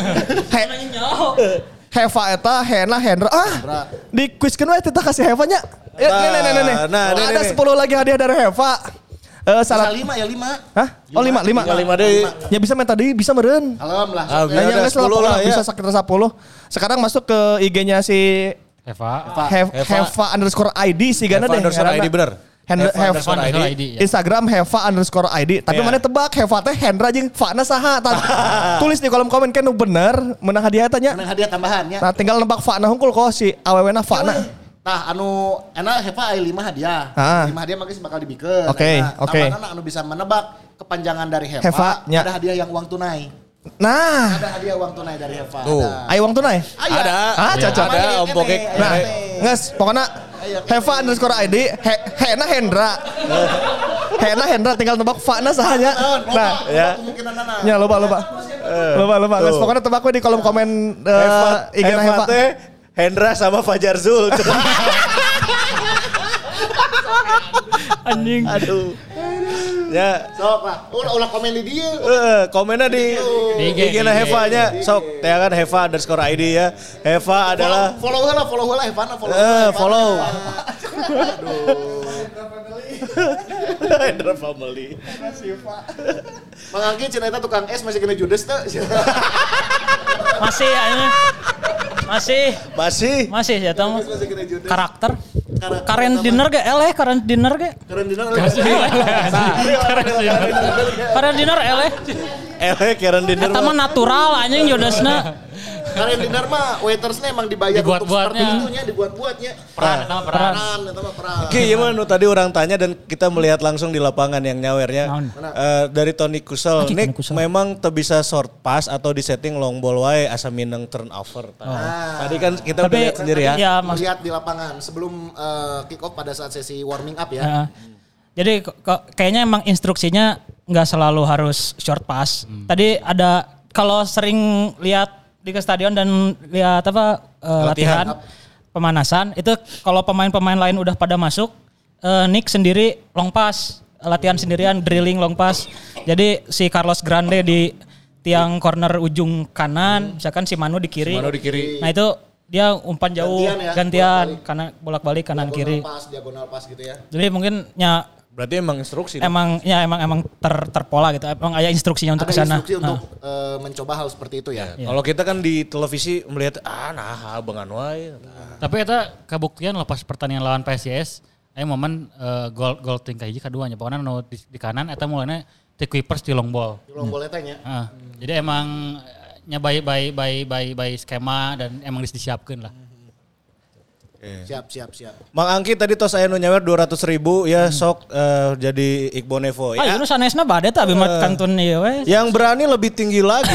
Heva eta Hena Hendra. Di quizkeun we teh kasih Heva nya. Nih. Nah, Ada nih. 10 lagi hadiah dari Heva. Salah 5 ya 5. Hah? Oh 5. 5 deui. Ya bisa men tadi bisa meureun. Alhamdulillah. Ya udah 10 lah ya. Bisa sekitar 10. Sekarang masuk ke IG-nya si Eva. Heva_ID sih gana deh. _ID bener. ID. Instagram Heva_ID. Tapi Ya. mana tebak Heva teh Hendra jeung Fana saha. Tulis di kolom komen kan nu bener menang hadiah tanya. Menang hadiah tambahannya. Nah tinggal nebak Fana hungkul kok si awewena Fana. Nah, anu enak Heva aya 5 hadiah. 5 hadiah mangge bakal dibikeun. Oke. Tambahan anu bisa menebak kepanjangan dari Heva, nya. ada hadiah yang uang tunai. Nah, Ada hadiah uang tunai dari Heva. Tuh. Ada. ayo uang tunai. Ada. Cocok. Ada Om Pokek. Nah, nges, pokoknya Heva_ID, Hena Hendra. Hena Hendra tinggal tebak Fana sahanya. Nah, Ya. Kemungkinan nana. ya lupa. Nges, pokoknya tebak we di kolom komen IG Heva Heva. teh Hendra sama Fajar Zul. Anjing. Aduh. Ya. Sok lah. Ulah komen di dia. Komennya di IG na Heva nya. Sok, teh kan Heva_ID ya. Heva adalah Follow lah Heva follow. Hendra Family. Mang Angki cenah eta tukang es masih kena judes teh. Masih aya. Masih ya tahu Masih kena judes. karakter. Karen dinner ge eleh, karen dinner ge. Keren dina. Karen dinner eleh. Karen dinner. Eta mah natural anjing jodasna. Karen dinner mah waitersnya emang dibayar untuk seperti Dibuat-buatnya. itunya, dibuat-buatnya. Peran. Peran, eta mah peran. Oke, gimana nu tadi orang tanya dan kita melihat langsung di lapangan yang nyawernya. Naon? Dari Tony Kusel. Anjing, Nick Tony Kusel. memang teu bisa short pass atau di setting long ball wae asa mineng turnover. Tadi kan kita udah Tapi lihat sendiri ya. ya maksud Lihat di lapangan sebelum kick off pada saat sesi warming up ya. ya. Jadi kayaknya emang instruksinya nggak selalu harus short pass. Tadi ada kalau sering lihat di ke stadion dan lihat apa latihan pemanasan itu kalau pemain-pemain lain udah pada masuk, Nick sendiri long pass, latihan sendirian drilling long pass. Jadi si Carlos Grande di tiang corner ujung kanan, misalkan si Manu di kiri. Nah itu dia umpan jauh gantian karena bolak-balik kanan kiri. Diagonal pas gitu ya. Jadi mungkin ya Berarti emang instruksi. emang terpola gitu. Emang ada instruksinya untuk ke Ada sana. instruksi untuk mencoba hal seperti itu ya. Kalau kita kan di televisi melihat bengan wae. Tapi eta kabuktian lepas pertandingan lawan PSIS, momen gol tingkah hiji kaduanya. Pokoknya nu di kanan eta mulanya ti Kuipers di long ball. Di long ball etanya. Jadi emang nya baik skema dan emang disiapkeun lah. Siap. Mang Angki tadi tos aya nu nyawer 200.000 ya sok jadi Iqbal Nevo ya. Ayo nu sanesna bade teh abi mah kantun ieu we. Yang berani lebih tinggi lagi.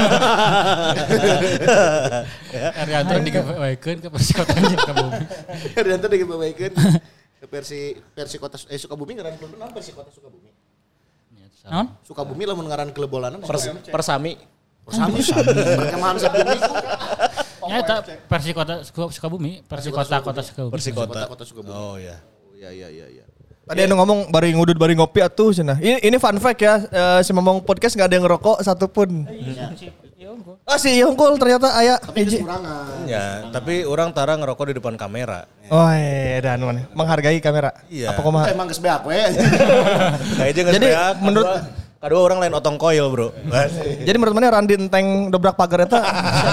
Arianto digawekeun ke Persikota Sukabumi. Arianto digawekeun ke Persi Kota Sukabumi ngaran klub naon Persikota Sukabumi. Naon? Sukabumi lamun ngaran klub bolanan Persami. Perkemahan Sukabumi. Ya eta Persikota Sukabumi, Persikota Kota Sukabumi. Persikota Kota Sukabumi. Oh ya. Iya. Tadi anu ngomong bari ngudut bari ngopi atuh cenah. Ini fun fact ya, si Momong podcast enggak ada yang ngerokok satupun. Si Yongkul ternyata aya hiji. Ya, tapi orang tara ngerokok di depan kamera. Oh dan mana? Menghargai kamera. Iya. Apa kumaha? Emang geus beak we. Kayaknya nggak Jadi, menurut kedua orang lain otong koil bro. Jadi menurut mana Randi enteng dobrak pagar eta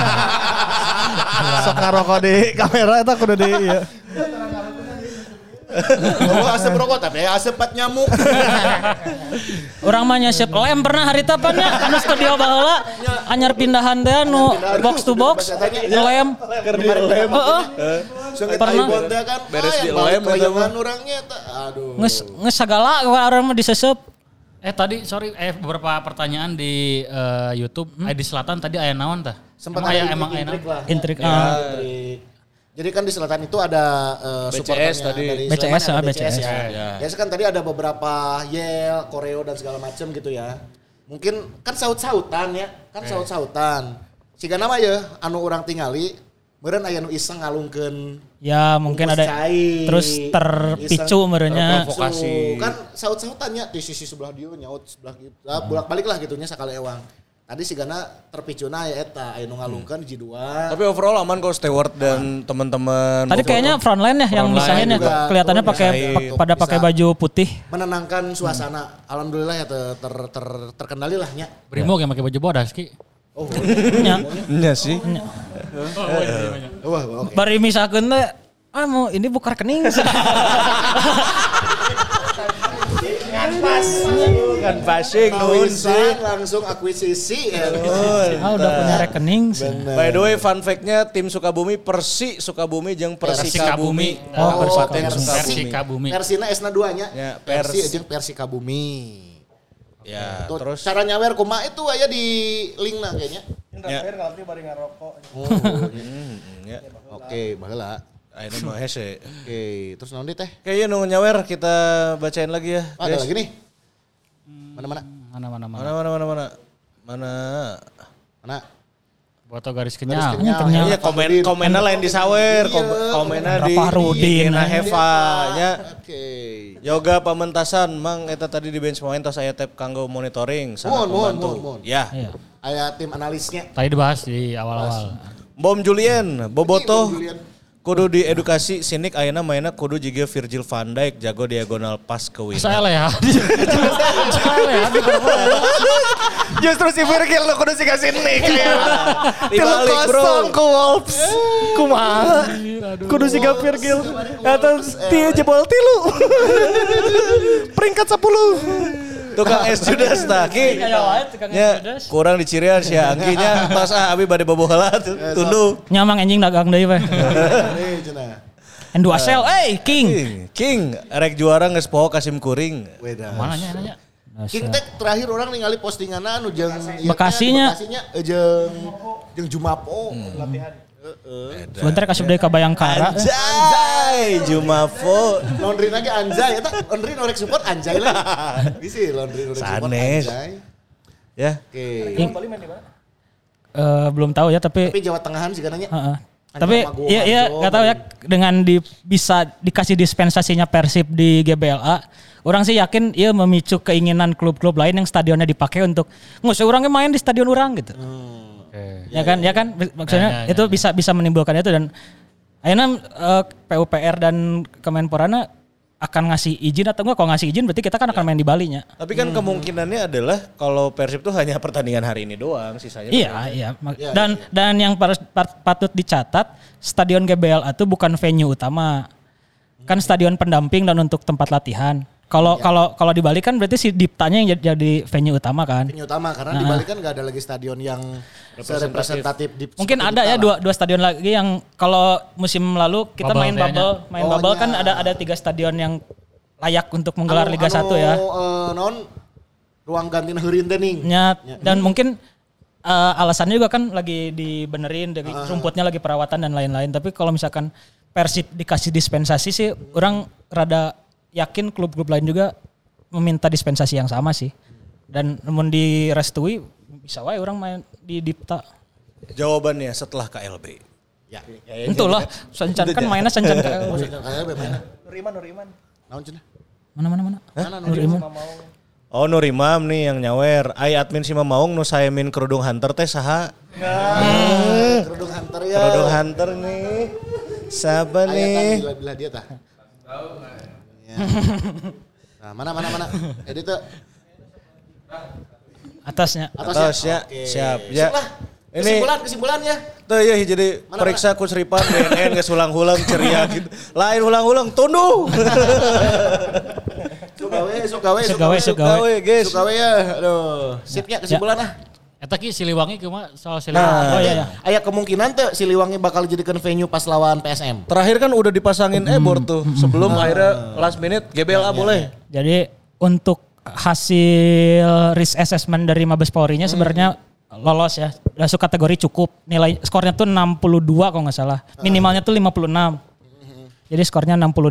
sok ngarokok di kamera eta kudu di ieu. Oh, asep rokok tapi asep pat nyamuk. Urang mah nyesep lem pernah harita pan nya anu studio baheula anyar pindahan teh anu box to box lem. Heeh. Pernah kan beres di lem eta mah urangnya aduh. Nges sagala urang mah disesep. Tadi beberapa pertanyaan di YouTube. Di selatan tadi aya naon tah? Sempat emang aya naon? Intrik. Jadi kan di selatan itu ada supporternya BCS tadi. dari BCS, Sleman, ada BCS. ya. Biasa kan tadi ada beberapa yel, koreo dan segala macam gitu ya. Mungkin kan saut-sautan ya, saut-sautan. Siga nama ya anu urang tingali, meureun aya nu iseng ngalungkeun. Ya mungkin ada terus terpicu merenya. Provokasi. Kan saut-sautannya di sisi sebelah dia nyaut sebelah gitu. Bolak-balik lah gitunya sakali ewang. Tadi sigana terpicuna ya eta aya nu ngalungkeun hiji dua. Tapi overall aman kok Stewart dan teman-teman. Tadi kayaknya frontline ya yang misahin ya kelihatannya pada pakai baju putih. Menenangkan suasana. Alhamdulillah ya terkendali lah nya. Brimo yang pakai baju bodas ki. Oh. Iya sih. Wah, oke. Bari misakeun teh mau ini buka rekening. Kan passing nuhun sih. Langsung akuisisi ya. Udah punya rekening. By the way fun fact-nya tim Sukabumi Persi Sukabumi jeung Persikabumi. Persikabumi. Persina esna duanya. Ya, Persi jeung Persikabumi. Ya, Tuh, terus cara nyawer kumaha itu aya di linkna kayaknya. Ya. bari ngarokok. Ya. Oke, baheula. Ini mah hese. Oke, terus naon teh? Kayaknya nu nyawer kita bacain lagi ya. Ada lagi nih. Mana? Mana? Foto garis kenyal. Iya komennya lain di sawer, komennya di Rudin Heva nya. Oke. Yoga pamentasan mang eta tadi di bench pemain tos aya tab kanggo monitoring sangat membantu. Mohon. Ya. Aya tim analisnya. Tadi dibahas di awal-awal. Bom Julien, Boboto Julian. kudu diedukasi sinik ayeuna mainna kudu jiga Virgil van Dijk jago diagonal pas ke wing. Saya ya. Justru si Virgil lo kudu siga sinik. Dibalik, bro. 3-0 ku Wolves. Kumaha? Kudu siga Virgil. Atau dia jebol 3. Peringkat 10. Tukang es Judas tah ki. Nya kurang dicirian si Angki nya tos abi bade bobola tunduh. Nyamang anjing dagang deui we. Nih cenah. Endusel, King rek juara geus poho Kasim Kuring. Weda. Mana nya? King Tech terakhir orang ningali postinganna anu jeung Bekasinya jeung Jumapo latihan. Sebentar kasih deui ka Bayangkara. Anjay, Jumafo. Laundry lagi anjay eta laundry norek support anjay lah. Bisi laundry norek support Sanes. anjay. Ya. Oke. Belum tahu ya tapi Tapi Jawa Tengahan sih katanya. Tapi iya nggak tahu ya dengan bisa dikasih dispensasinya Persib di GBLA, orang sih yakin ia memicu keinginan klub-klub lain yang stadionnya dipakai untuk ngusir orangnya main di stadion orang gitu. Ya kan maksudnya itu bisa menimbulkan itu dan akhirnya PUPR dan Kemenporana akan ngasih izin atau enggak. Kalau ngasih izin berarti kita kan akan main di Bali-nya. Tapi kan kemungkinannya adalah kalau Persib tuh hanya pertandingan hari ini doang, sisanya. Iya. Dan yang patut dicatat, Stadion GBLA itu bukan venue utama. Kan stadion pendamping dan untuk tempat latihan. Kalau di Bali kan berarti si Diptanya yang jadi venue utama kan? Venue utama karena di Bali kan gak ada lagi stadion yang representatif. Mungkin ada ya dua stadion lagi yang kalau musim lalu kita main bubble kan ada 3 stadion yang layak untuk menggelar Liga 1 ya. Ruang ganti heureun teh ning. Dan mungkin alasannya juga kan lagi dibenerin, rumputnya lagi perawatan dan lain-lain. Tapi kalau misalkan Persib dikasih dispensasi sih, orang rada yakin klub-klub lain juga meminta dispensasi yang sama sih. Dan namun direstui bisa wae orang main di Dipta. Jawabannya setelah KLB. Ya. Entulah, sancan kan mainnya sancan KLB. Nuriman. Naon cenah? Mana? Nuriman. Oh Nur Imam nih yang nyawer. Ai admin si Mamaung nu saemin kerudung hunter teh saha? Kerudung hunter ya. Kerudung hunter nih. Siapa nih? Bila dia tah. Nah, mana? Edit tuh. Atasnya. Atasnya. Siap. Ya. Ini kesimpulannya. Tuh ya jadi periksa ku Sripan BNN geus ulang-ulang ceria gitu. Lain ulang-ulang tunduh. Sugawe guys. Sugawe ya. Aduh, sipnya kesimpulan lah. Eta ki Siliwangi kumaha soal Siliwangi. Oh iya. Aya kemungkinan teh Siliwangi bakal dijadikan venue pas lawan PSM. Terakhir kan udah dipasangin ebor tuh sebelum akhirnya last minute GBLA boleh. Jadi untuk hasil risk assessment dari Mabes Polri-nya sebenarnya lolos ya. Masuk kategori cukup. Nilai skornya tuh 62 kalau nggak salah. Minimalnya tuh 56. Jadi skornya 62,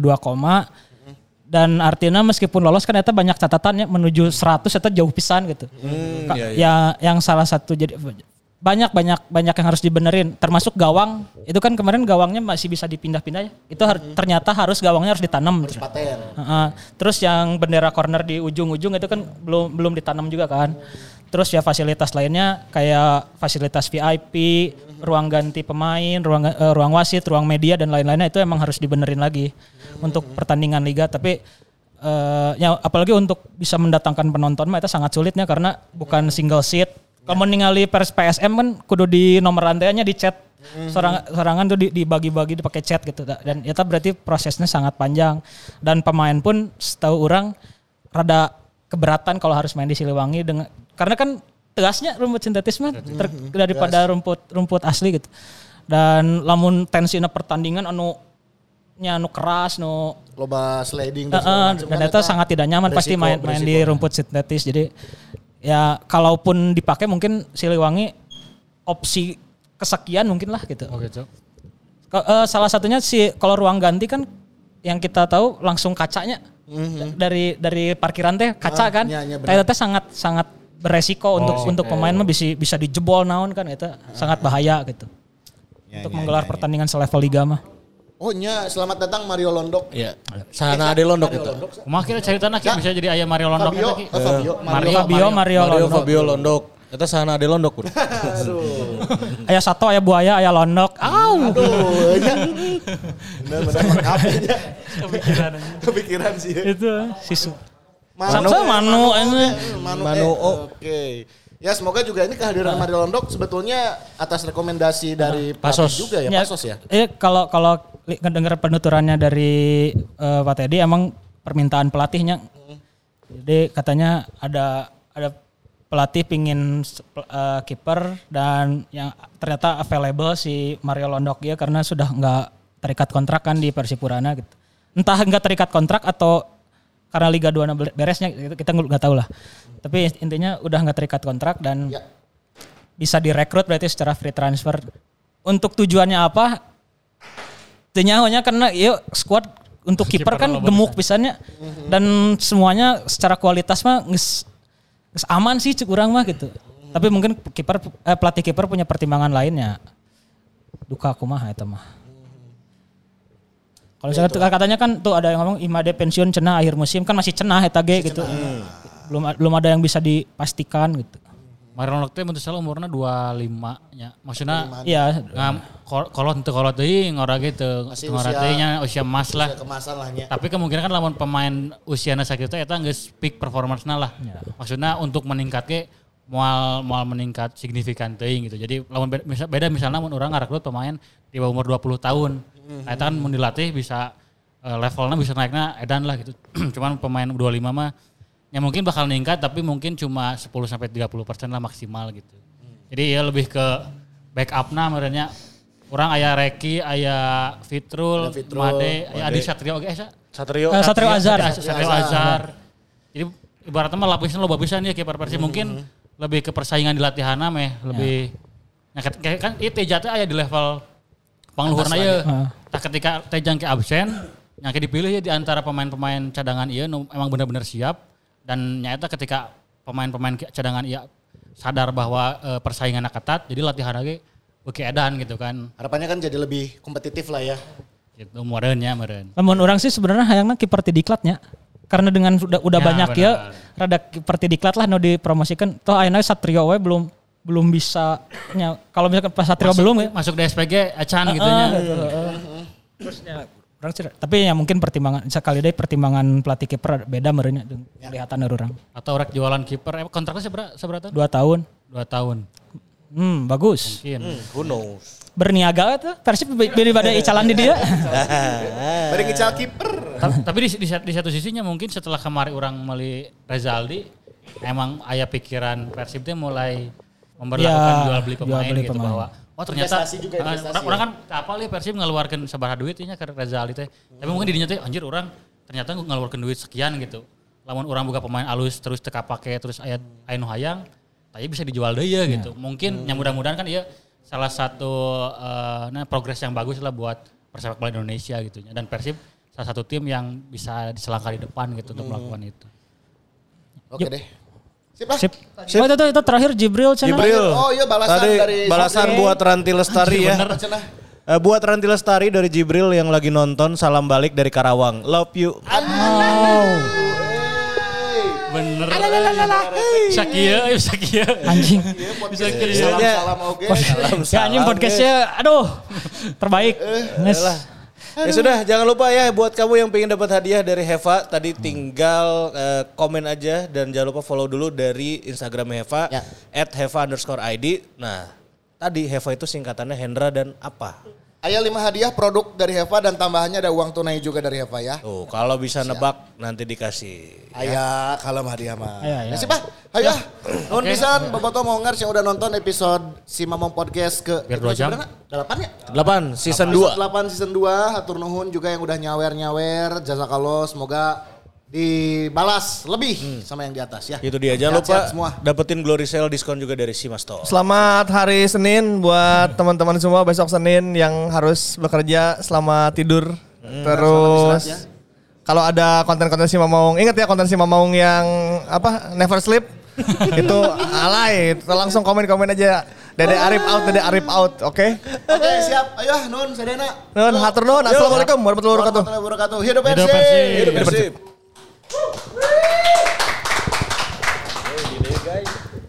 dan artinya meskipun lolos kan eta banyak catatannya menuju 100 eta jauh pisan gitu. Ya yang salah satu jadi banyak yang harus dibenerin termasuk gawang. Itu kan kemarin gawangnya masih bisa dipindah-pindah ya. Itu ternyata gawangnya harus ditanam. Terus yang bendera corner di ujung-ujung itu kan belum ditanam juga kan. Terus ya fasilitas lainnya kayak fasilitas VIP, ruang ganti pemain, ruang wasit, ruang media dan lain-lainnya itu emang harus dibenerin lagi untuk pertandingan liga. Tapi ya apalagi untuk bisa mendatangkan penonton mah itu sangat sulitnya karena bukan single seat. Kalau ningali PSM kan kudu di nomor rantainya di chat. Sorangan tuh dibagi-bagi dipakai chat gitu. Dan itu berarti prosesnya sangat panjang. Dan pemain pun setahu orang rada keberatan kalau harus main di Siliwangi karena kan tegasnya rumput sintetis mah daripada rumput asli gitu. Dan lamun tensina pertandingan anu keras loba sliding dan itu sangat tidak nyaman pasti main di rumput sintetis. Jadi ya kalaupun dipakai mungkin Siliwangi opsi kesekian mungkin lah gitu. Oh gitu. Salah satunya kalau ruang ganti kan yang kita tahu langsung kacanya dari parkiran teh kaca kan. Itu teh sangat beresiko untuk pemain mah bisa dijebol naon kan itu sangat bahaya gitu. Untuk menggelar pertandingan selevel liga mah. Oh nya selamat datang Mario Londok. Iya. Sahana Ade Londok itu. Kumaha kira caritana bisa jadi aya Mario Londok eta ki. Mario Fabio Londok. Eta sahana Ade Londok. Aduh. Aya sato, aya buaya, aya londok. Aduh. Benar-benar lengkap aja. Kepikiran sih. Itu sisu. Manu. Oke. Ya semoga juga ini kehadiran Mario Londok sebetulnya atas rekomendasi dari pelatih juga ya, Pasos ya. Kalau dengar penuturannya dari Pak Teddy emang permintaan pelatihnya. Jadi katanya ada pelatih pingin kiper dan yang ternyata available si Mario Londok ya karena sudah nggak terikat kontrak kan di Persipurana gitu. Entah nggak terikat kontrak atau karena Liga 2 beresnya kita nggak tahu lah. Tapi intinya udah nggak terikat kontrak dan bisa direkrut berarti secara free transfer. Untuk tujuannya apa? Tenyahonya karena yuk squad untuk kiper kan gemuk pisannya dan semuanya secara kualitas mah aman sih kurang mah gitu. Tapi mungkin pelatih kiper punya pertimbangan lainnya. Duka kumaha eta mah. Kalau misalnya katanya kan tuh ada yang ngomong Imade pensiun cenah akhir musim kan masih cenah eta ge gitu. Belum ada yang bisa dipastikan gitu. Mario Londok teh mun salah umurna 25 nya. Maksudna iya kolot teuing ngora gitu. Ngora teh nya usia emas lah. Tapi kemungkinan kan lamun pemain usiana sakitu eta geus peak performance-na lah. Ya. Maksudna untuk meningkatke moal meningkat signifikan teuing gitu. Jadi lamun beda misalnya mun urang ngarekrut pemain di bawah umur 20 tahun. Nah, itu kan mun dilatih bisa levelnya bisa naiknya edan lah gitu. Cuman pemain U25 mah ya mungkin bakal meningkat tapi mungkin cuma 10-30% lah maksimal gitu. Jadi ya lebih ke backup-na merenya. Orang aya Reki, aya Fitrul, Made, aya Adi Satrio oke Satrio Azhar. Jadi ibaratnya mah lapisnya lo bagusan ya kiper Persib mungkin lebih ke persaingan di latihanna meh lebih kan ieu Teja teh aya di level pangluhurna ieu. Tah ketika Teja ke absen yang dipilih ya di antara pemain-pemain cadangan ieu emang benar-benar siap dan nyata ketika pemain-pemain cadangan ieu sadar bahwa persainganna ketat jadi latihan lagi oke edan gitu kan. Harapannya kan jadi lebih kompetitif lah ya. Gitu meureun. Lamun orang sih sebenarnya hayangna kiper ti diklatnya. Karena dengan udah banyak ya rada kiper ti diklat lah nu dipromosikan. Toh ayeuna Satrio we belum bisa nya kalau misalkan pas Satrio belum ya masuk di SPG acan gitu nya. Terus ya orang sih tapi ya mungkin pertimbangan sekali deh pertimbangan pelatih kiper beda meureunnya kelihatan orang. Atau rek jualan kiper kontraknya seberapa? 2 tahun. 2 tahun. Bagus. Mungkin. Who knows? Berniaga tuh Persib daripada icalan di dia. Bari ngical kiper. Tapi di satu sisinya mungkin setelah kemarin orang meli Rezaldi emang aya pikiran Persib teh mulai memberlakukan jual beli pemain gitu bahwa ternyata orang kan kapal ya Persib ngeluarkan sabaraha duit nya ke Rezaldi teh. Tapi mungkin didinya teh anjir orang ternyata ngeluarkan duit sekian gitu. Lamun orang buka pemain alus terus teka pake terus aya nu hayang tapi bisa dijual deh ya gitu. Mungkin yang mudah-mudahan kan iya salah satu progres yang bagus lah buat persepak bola Indonesia gitu. Dan Persib salah satu tim yang bisa diselangkah di depan gitu untuk melakukan itu. Oke deh. Sip lah. Sip. Oh itu terakhir Jibril cenah. Oh iya balasan tadi dari balasan buat Ranti Lestari ya. Buat Ranti Lestari dari Jibril yang lagi nonton, salam balik dari Karawang. Love you. Bener. Sakia. Anjing. Salam oke. Ya anjing podcastnya aduh terbaik. Ya sudah, jangan lupa ya buat kamu yang pengen dapat hadiah dari Heva tadi tinggal komen aja dan jangan lupa follow dulu dari Instagram Heva @heva_id. Nah, tadi Heva itu singkatannya Hendra dan apa? Aya 5 hadiah produk dari Heva dan tambahannya ada uang tunai juga dari Heva ya. Tuh, kalau bisa nebak nanti dikasih. Aya kalem hadiah mah. Ya. Sip ah. Ayo. Nuhun pisan bobotoh mongers yang udah nonton episode Si Mamong Podcast ke biar 2 jam. 8 ya? 8 season 2. 8 season 2. Hatur nuhun juga yang udah nyawer. Jazakallah, semoga dibalas lebih sama yang di atas ya. Itu dia, jangan lupa dapetin Glory Sale diskon juga dari Simasto. Selamat hari Senin buat teman-teman semua, besok Senin yang harus bekerja selamat tidur. Terus kalau ada konten-konten Si Mamong, ingat ya konten Si Mamong yang apa Never Sleep itu alay, langsung komen aja. Dede Arif out, oke? Oke, siap. Ayo, nun, sedena. Nun, hatur nuhun. Assalamualaikum warahmatullahi wabarakatuh. Hidup Persib. Hidup Persib. Hey, guys.